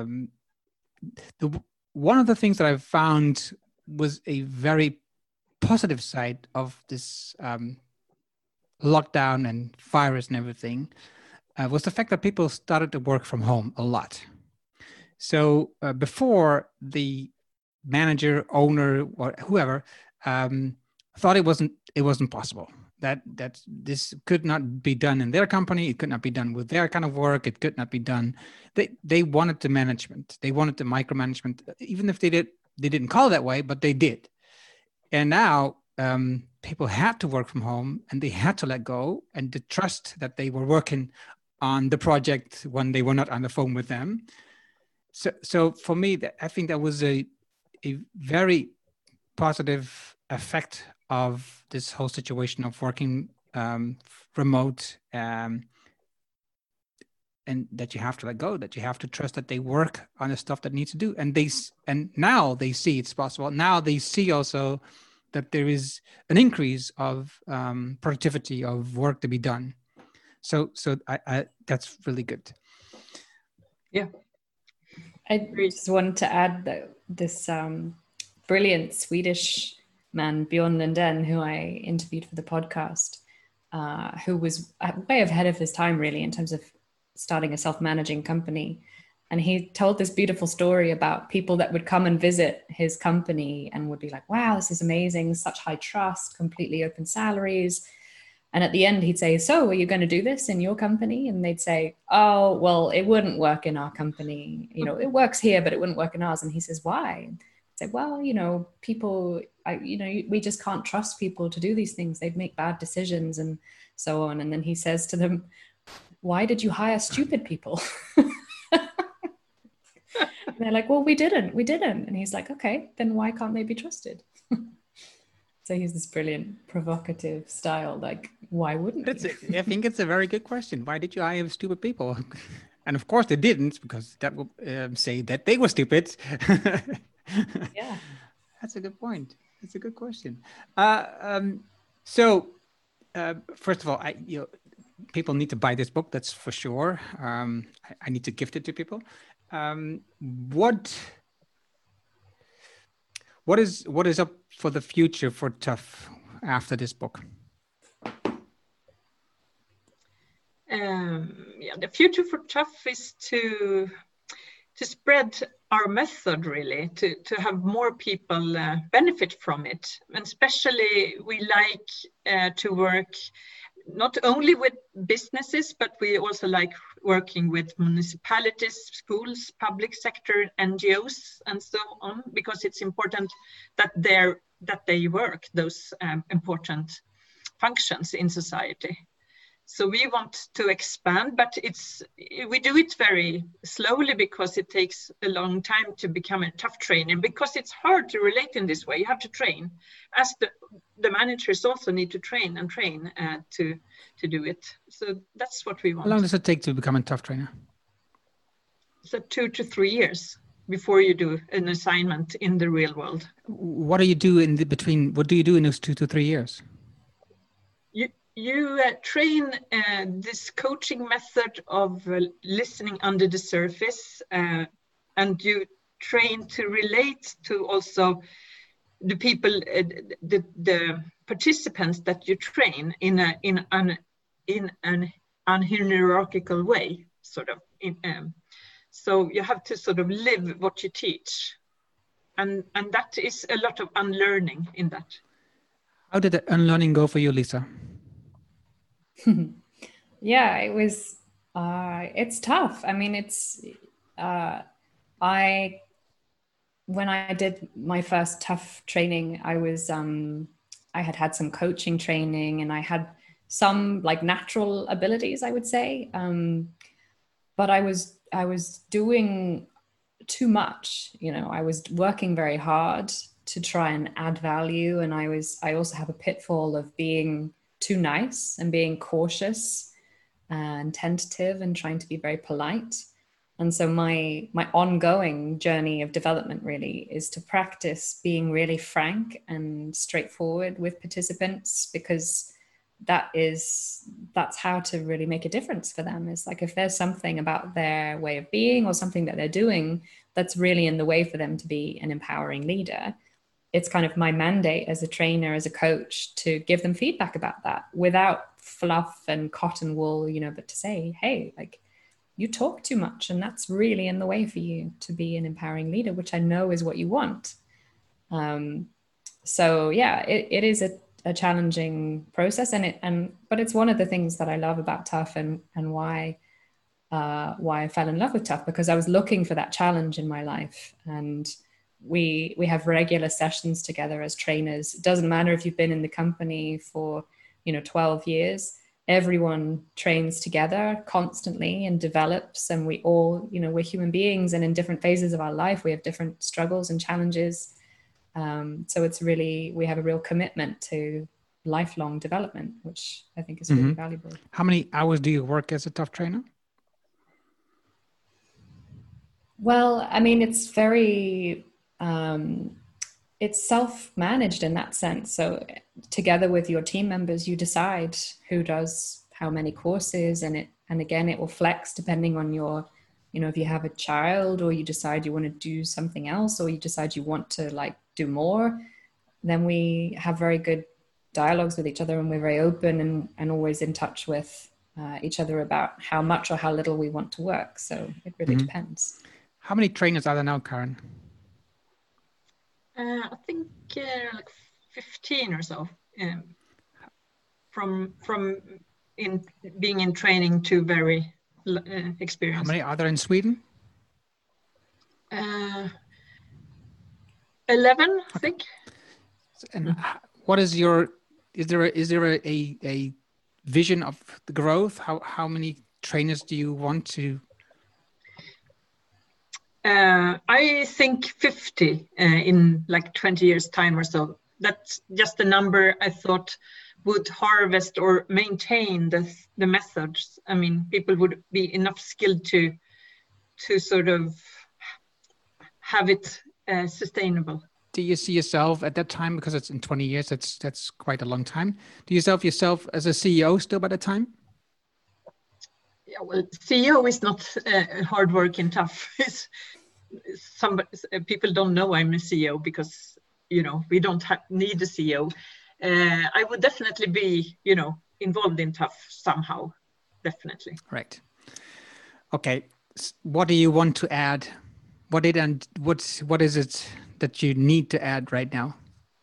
one of the things that I've found was a very positive side of this lockdown and virus and everything was the fact that people started to work from home a lot. So before, the manager, owner, or whoever thought it wasn't possible, that this could not be done in their company, it could not be done with their kind of work, it could not be done. They wanted the management, they wanted the micromanagement, even if they didn't call it that way, but they did. And now people had to work from home, and they had to let go, and the trust that they were working on the project when they were not on the phone with them. So for me, I think that was a very positive effect of this whole situation of working remote, and that you have to let go, that you have to trust that they work on the stuff that needs to do. And now they see it's possible. Now they see also that there is an increase of productivity of work to be done. So I that's really good. Yeah. I just wanted to add that this brilliant Swedish man, Bjorn Lundin, who I interviewed for the podcast, who was way ahead of his time, really, in terms of starting a self-managing company. And he told this beautiful story about people that would come and visit his company and would be like, wow, this is amazing, such high trust, completely open salaries. And at the end, he'd say, so are you going to do this in your company? And they'd say, oh, well, it wouldn't work in our company. It works here, but it wouldn't work in ours. And he says, why? I'd say, well, people, we just can't trust people to do these things. They'd make bad decisions and so on. And then he says to them, why did you hire stupid people? And they're like, well, we didn't. And he's like, okay, then why can't they be trusted? So he's this brilliant, provocative style. Like, why wouldn't you? I think it's a very good question. Why did you hire stupid people? And of course they didn't, because that would say that they were stupid. Yeah. That's a good point. That's a good question. So first of all, people need to buy this book. That's for sure. I need to gift it to people. What is up for the future for TUF after this book? The future for TUF is to spread our method, really, to have more people benefit from it. And especially we like to work not only with businesses, but we also like working with municipalities, schools, public sector, NGOs, and so on, because it's important that they work those important functions in society. So we want to expand, but we do it very slowly because it takes a long time to become a TUF trainer, because it's hard to relate in this way. You have to train, as the managers also need to train to do it. So that's what we want. How long does it take to become a TUF trainer? So 2 to 3 years before you do an assignment in the real world. What do you do in between? What do you do in those 2 to 3 years? You train this coaching method of listening under the surface, and you train to relate to also the people, the participants that you train in an unhierarchical way, sort of. So you have to sort of live what you teach, and that is a lot of unlearning in that. How did the unlearning go for you, Lisa? Yeah, it was, it's tough. I mean, when I did my first TUF training, I had some coaching training, and I had some like natural abilities, I would say. but I was doing too much. You know, I was working very hard to try and add value, and I also have a pitfall of being too nice and being cautious and tentative and trying to be very polite. And so my ongoing journey of development really is to practice being really frank and straightforward with participants, because that's how to really make a difference for them. It's like if there's something about their way of being or something that they're doing that's really in the way for them to be an empowering leader, it's kind of my mandate as a trainer, as a coach, to give them feedback about that without fluff and cotton wool, you know, but to say, hey, like, you talk too much and that's really in the way for you to be an empowering leader, which I know is what you want. So yeah, it is a challenging process, but it's one of the things that I love about TUF and why I fell in love with TUF, because I was looking for that challenge in my life. And we have regular sessions together as trainers. It doesn't matter if you've been in the company for 12 years. Everyone trains together constantly and develops, and we all, we're human beings, and in different phases of our life, we have different struggles and challenges. So it's really, we have a real commitment to lifelong development, which I think is really valuable. How many hours do you work as a TUF trainer? Well, I mean, it's very, it's self-managed in that sense. So together with your team members, you decide who does how many courses, and again, it will flex depending on your, if you have a child, or you decide you want to do something else, or you decide you want to do more, then we have very good dialogues with each other, and we're very open and always in touch with each other about how much or how little we want to work. So it really depends. How many trainers are there now, Karen? I think 15 or so. From in being in training to very experienced. How many are there in Sweden? 11, I think. And what is is there a vision of the growth? How many trainers do you want to? I think 50 in 20 years time or so. That's just a number I thought would harvest or maintain the methods. I mean, people would be enough skilled to sort of have it sustainable. Do you see yourself at that time, because it's in 20 years, that's quite a long time. Do you see yourself as a CEO still by that time? Yeah, well, CEO is not hard work and tough. People don't know I'm a CEO because, we don't need a CEO. I would definitely be, involved in TUF somehow, definitely. Right. Okay. What do you want to add? What is it that you need to add right now?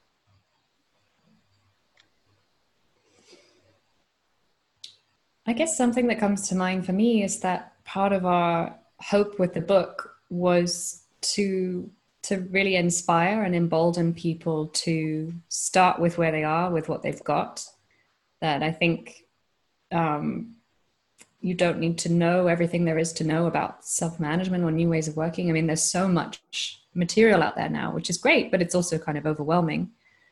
I guess something that comes to mind for me is that part of our hope with the book was to really inspire and embolden people to start with where they are, with what they've got. That I think you don't need to know everything there is to know about self-management or new ways of working. I mean, there's so much material out there now, which is great, but it's also kind of overwhelming.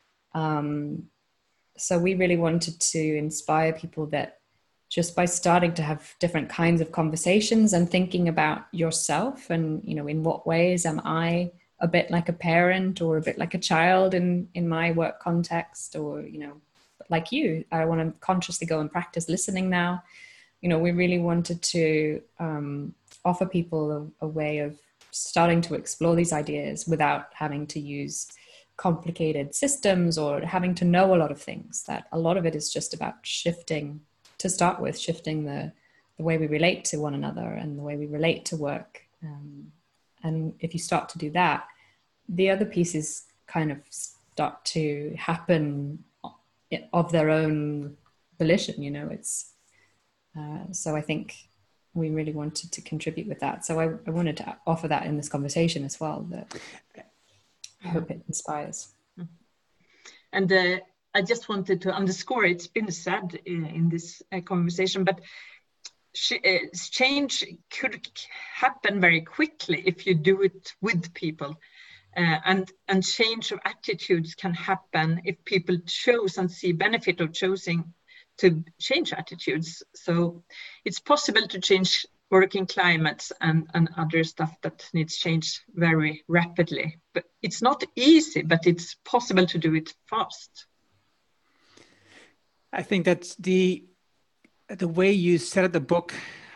So we really wanted to inspire people that just by starting to have different kinds of conversations and thinking about yourself and, in what ways am I a bit like a parent or a bit like a child in my work context, or, like you, I want to consciously go and practice listening now. We really wanted to offer people a way of starting to explore these ideas without having to use complicated systems or having to know a lot of things. That a lot of it is just about shifting the way we relate to one another and the way we relate to work. And if you start to do that, the other pieces kind of start to happen of their own volition. It's so I think we really wanted to contribute with that. So I wanted to offer that in this conversation as well, that I hope it inspires. And I just wanted to underscore, it's been said in this conversation, but change could happen very quickly if you do it with people. And change of attitudes can happen if people choose and see benefit of choosing to change attitudes. So it's possible to change working climates and other stuff that needs change very rapidly. But it's not easy, but it's possible to do it fast. I think that's the way you set up the book.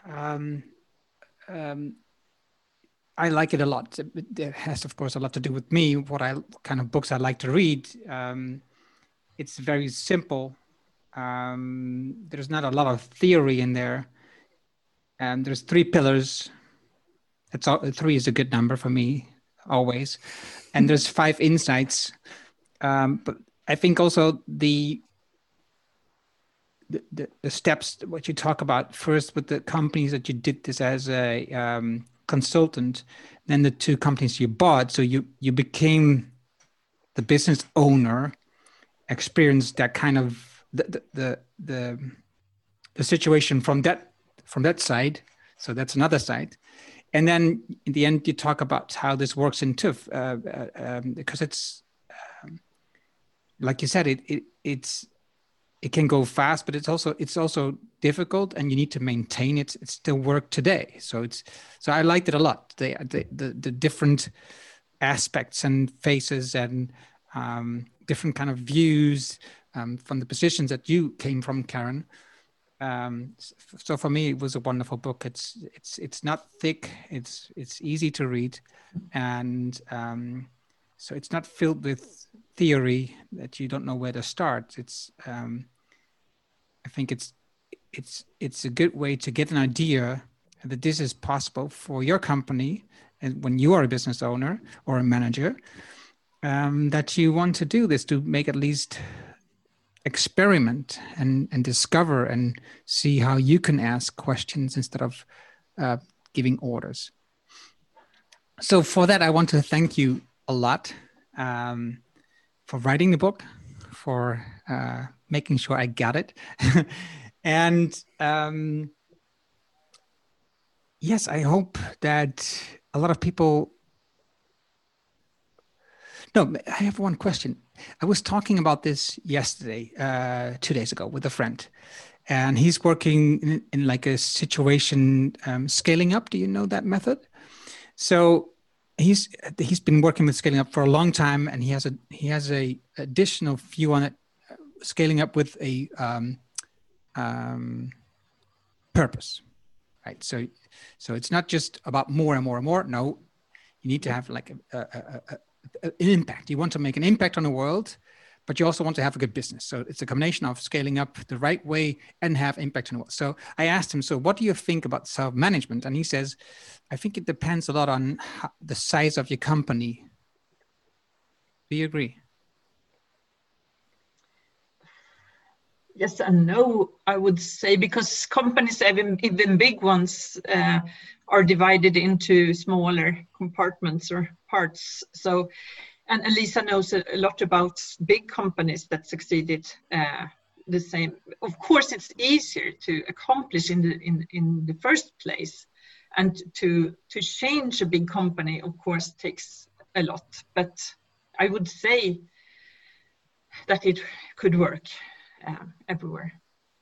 I like it a lot. It has, of course, a lot to do with me, what kind of books I like to read. It's very simple. There's not a lot of theory in there. And there's 3 pillars. That's all, 3 is a good number for me, always. And there's 5 insights. But I think also the steps, what you talk about first with the companies that you did this as a consultant, then the 2 companies you bought. So you became the business owner, experienced that kind of the situation from that side. So that's another side. And then in the end, you talk about how this works in TÜV, because it's like you said, it can go fast, but it's also difficult, and you need to maintain it. It's still work today. So I liked it a lot. The different aspects and faces and different kind of views from the positions that you came from, Karen. So for me, it was a wonderful book. It's not thick. It's easy to read, and so it's not filled with theory that you don't know where to start. I think it's a good way to get an idea that this is possible for your company, and when you are a business owner or a manager, that you want to do this, to make at least experiment and discover and see how you can ask questions instead of giving orders. So for that, I want to thank you a lot for writing the book, for making sure I got it. And yes, I hope that a lot of people... No, I have one question. I was talking about this yesterday, 2 days ago, with a friend, and he's working in like a situation scaling up. Do you know that method? So he's been working with scaling up for a long time, and he has a additional view on it, scaling up with a purpose, right? So it's not just about more and more and more. No, you need to have like an impact. You want to make an impact on the world, but you also want to have a good business. So it's a combination of scaling up the right way and have impact on the world. So I asked him, so what do you think about self-management? And he says, I think it depends a lot on the size of your company. Do you agree? Yes and no, I would say, because companies, even big ones, are divided into smaller compartments or parts. So, and Lisa knows a lot about big companies that succeeded the same. Of course, it's easier to accomplish in the first place, and to change a big company, of course, takes a lot. But I would say that it could work everywhere.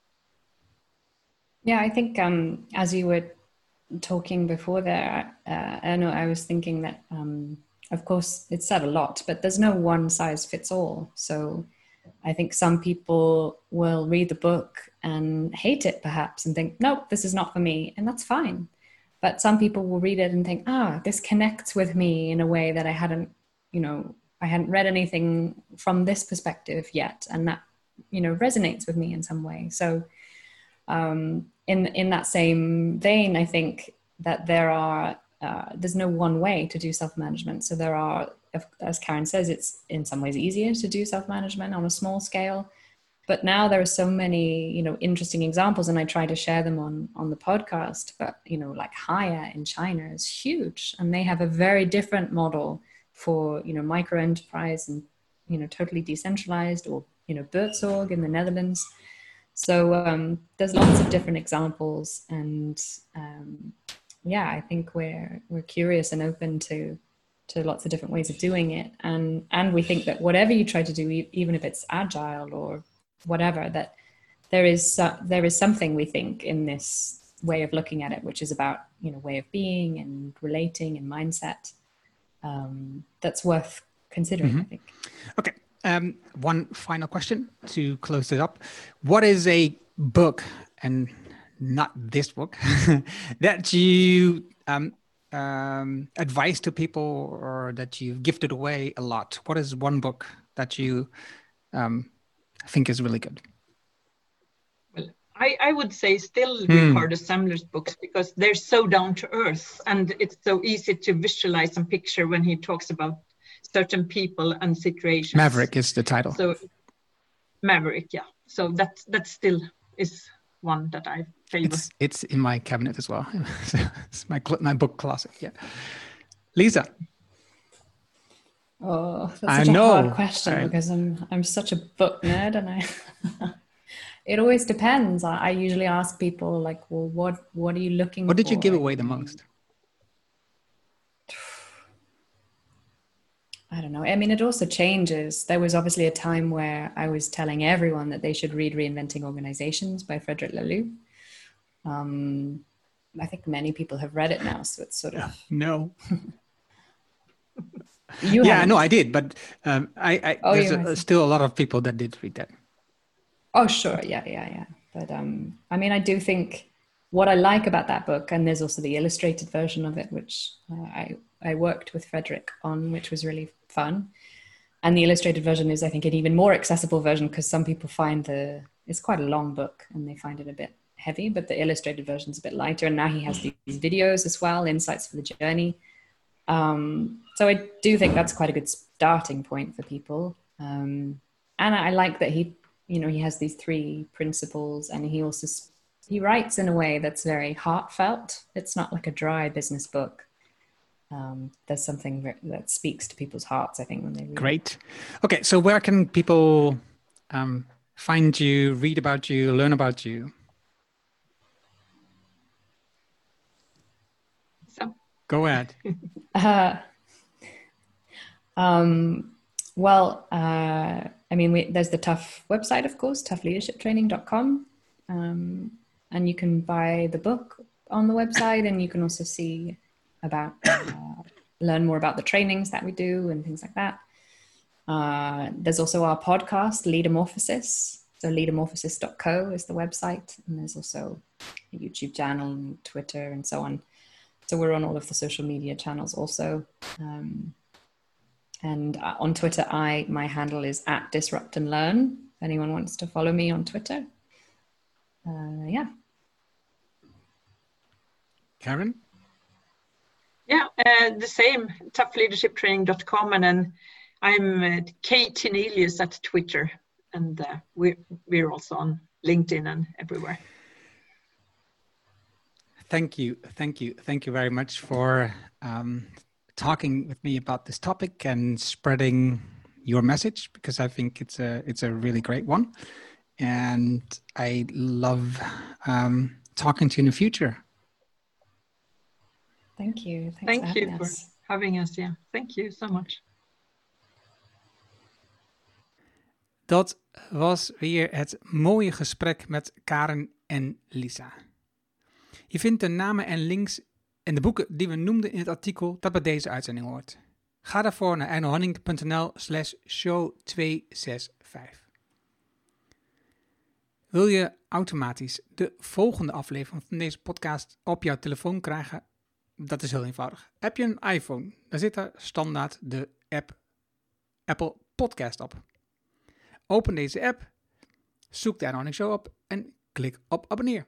Yeah, I think as you were talking before there, I was thinking that, of course, it's said a lot, but there's no one size fits all. So I think some people will read the book and hate it perhaps and think, nope, this is not for me. And that's fine. But some people will read it and think, this connects with me in a way that I hadn't read anything from this perspective yet. And that, resonates with me in some way. So in that same vein, I think that there's no one way to do self-management. So there are, as Karen says, it's in some ways easier to do self-management on a small scale. But now there are so many, interesting examples, and I try to share them on the podcast. But, like Haier in China is huge, and they have a very different model for, micro enterprise and, totally decentralized, or, Buurtzorg in the Netherlands. So there's lots of different examples, and I think we're curious and open to lots of different ways of doing it, and we think that whatever you try to do, even if it's agile or whatever, that there is something, we think, in this way of looking at it, which is about way of being and relating and mindset, that's worth considering. I think. Okay. One final question to close it up. What is a book, and not this book, that you advise to people, or that you've gifted away a lot? What is one book that you think is really good? Well, I would say still Ricardo Semler's books, because they're so down to earth, and it's so easy to visualize and picture when he talks about certain people and situations. Maverick is the title. So Maverick, yeah. So that still is one that I favor. It's in my cabinet as well. It's my book closet. Yeah. Lisa. Oh, that's such a hard question, because I'm such a book nerd, and it always depends. I usually ask people like, well, what are you looking for? What did you give away the most? I don't know. I mean, it also changes. There was obviously a time where I was telling everyone that they should read Reinventing Organizations by Frederic Laloux. I think many people have read it now, so it's sort of... No. I did, but there's still a lot of people that did read that. Oh, sure. Yeah. But I mean, I do think what I like about that book, and there's also the illustrated version of it, which I worked with Frederic on, which was really fun. And the illustrated version is, I think, an even more accessible version, because some people find it's quite a long book and they find it a bit heavy, but the illustrated version is a bit lighter. And now he has these videos as well, insights for the journey. So I do think that's quite a good starting point for people. And I like that he has these 3 principles, and he writes in a way that's very heartfelt. It's not like a dry business book. There's something that speaks to people's hearts, I think, when they read. Great. Okay, so where can people find you, read about you, learn about you? So. Go ahead. I mean, there's the Tough website, of course, toughleadershiptraining.com. And you can buy the book on the website, and you can also see about, learn more about the trainings that we do and things like that. There's also our podcast, Leadermorphosis. So leadermorphosis.co is the website. And there's also a YouTube channel and Twitter and so on. So we're on all of the social media channels also. And on Twitter, my handle is @DisruptAndLearn. If anyone wants to follow me on Twitter. Karen? Yeah, the same, toughleadershiptraining.com. And then I'm Kate Tinelius at Twitter. And we're also on LinkedIn and everywhere. Thank you very much for talking with me about this topic and spreading your message, because I think it's a really great one, and I love talking to you in the future. Thank you. Thank you for having us. Yeah, thank you so much. Dat was weer het mooie gesprek met Karen en Lisa. Je vindt de namen en links en de boeken die we noemden in het artikel dat bij deze uitzending hoort. Ga daarvoor naar ernohanning.nl/show 265. Wil je automatisch de volgende aflevering van deze podcast op jouw telefoon krijgen? Dat is heel eenvoudig. Heb je een iPhone, dan zit daar standaard de app Apple Podcast op. Open deze app, zoek de Erno Show op en klik op abonneer.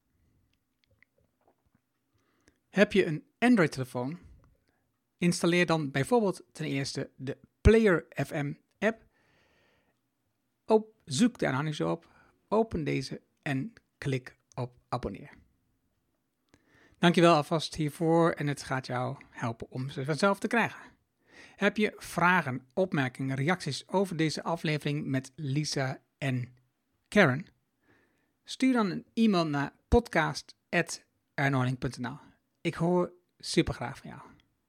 Heb je een Android-telefoon? Installeer dan bijvoorbeeld ten eerste de Player FM app. Zoek de Erno Show op, open deze en klik op abonneer. Dankjewel alvast hiervoor en het gaat jou helpen om ze vanzelf te krijgen. Heb je vragen, opmerkingen, reacties over deze aflevering met Lisa en Karen? Stuur dan een e-mail naar podcast@ernohanning.nl. Ik hoor super graag van jou.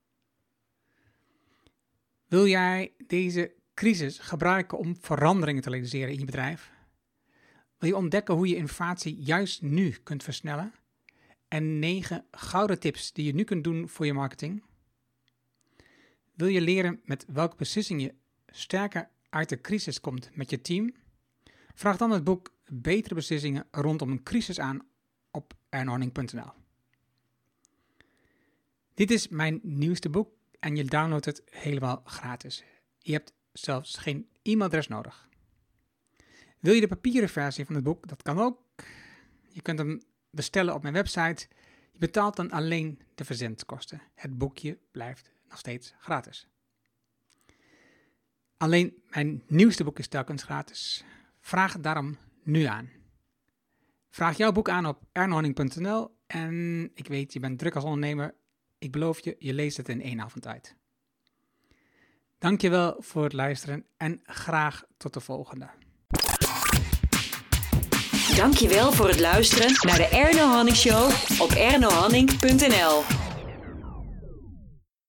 Wil jij deze crisis gebruiken om veranderingen te realiseren in je bedrijf? Wil je ontdekken hoe je innovatie juist nu kunt versnellen? En 9 gouden tips die je nu kunt doen voor je marketing? Wil je leren met welke beslissing je sterker uit de crisis komt met je team? Vraag dan het boek Betere Beslissingen rondom een crisis aan op ernohanning.nl. Dit is mijn nieuwste boek en je downloadt het helemaal gratis. Je hebt zelfs geen e-mailadres nodig. Wil je de papieren versie van het boek? Dat kan ook. Je kunt hem bestellen op mijn website. Je betaalt dan alleen de verzendkosten. Het boekje blijft nog steeds gratis. Alleen mijn nieuwste boek is telkens gratis. Vraag het daarom nu aan. Vraag jouw boek aan op ernohanning.nl en ik weet, je bent druk als ondernemer. Ik beloof je, je leest het in 1 avond uit. Dankjewel voor het luisteren en graag tot de volgende. Dankjewel voor het luisteren naar de Erno Hanning Show op ernohanning.nl.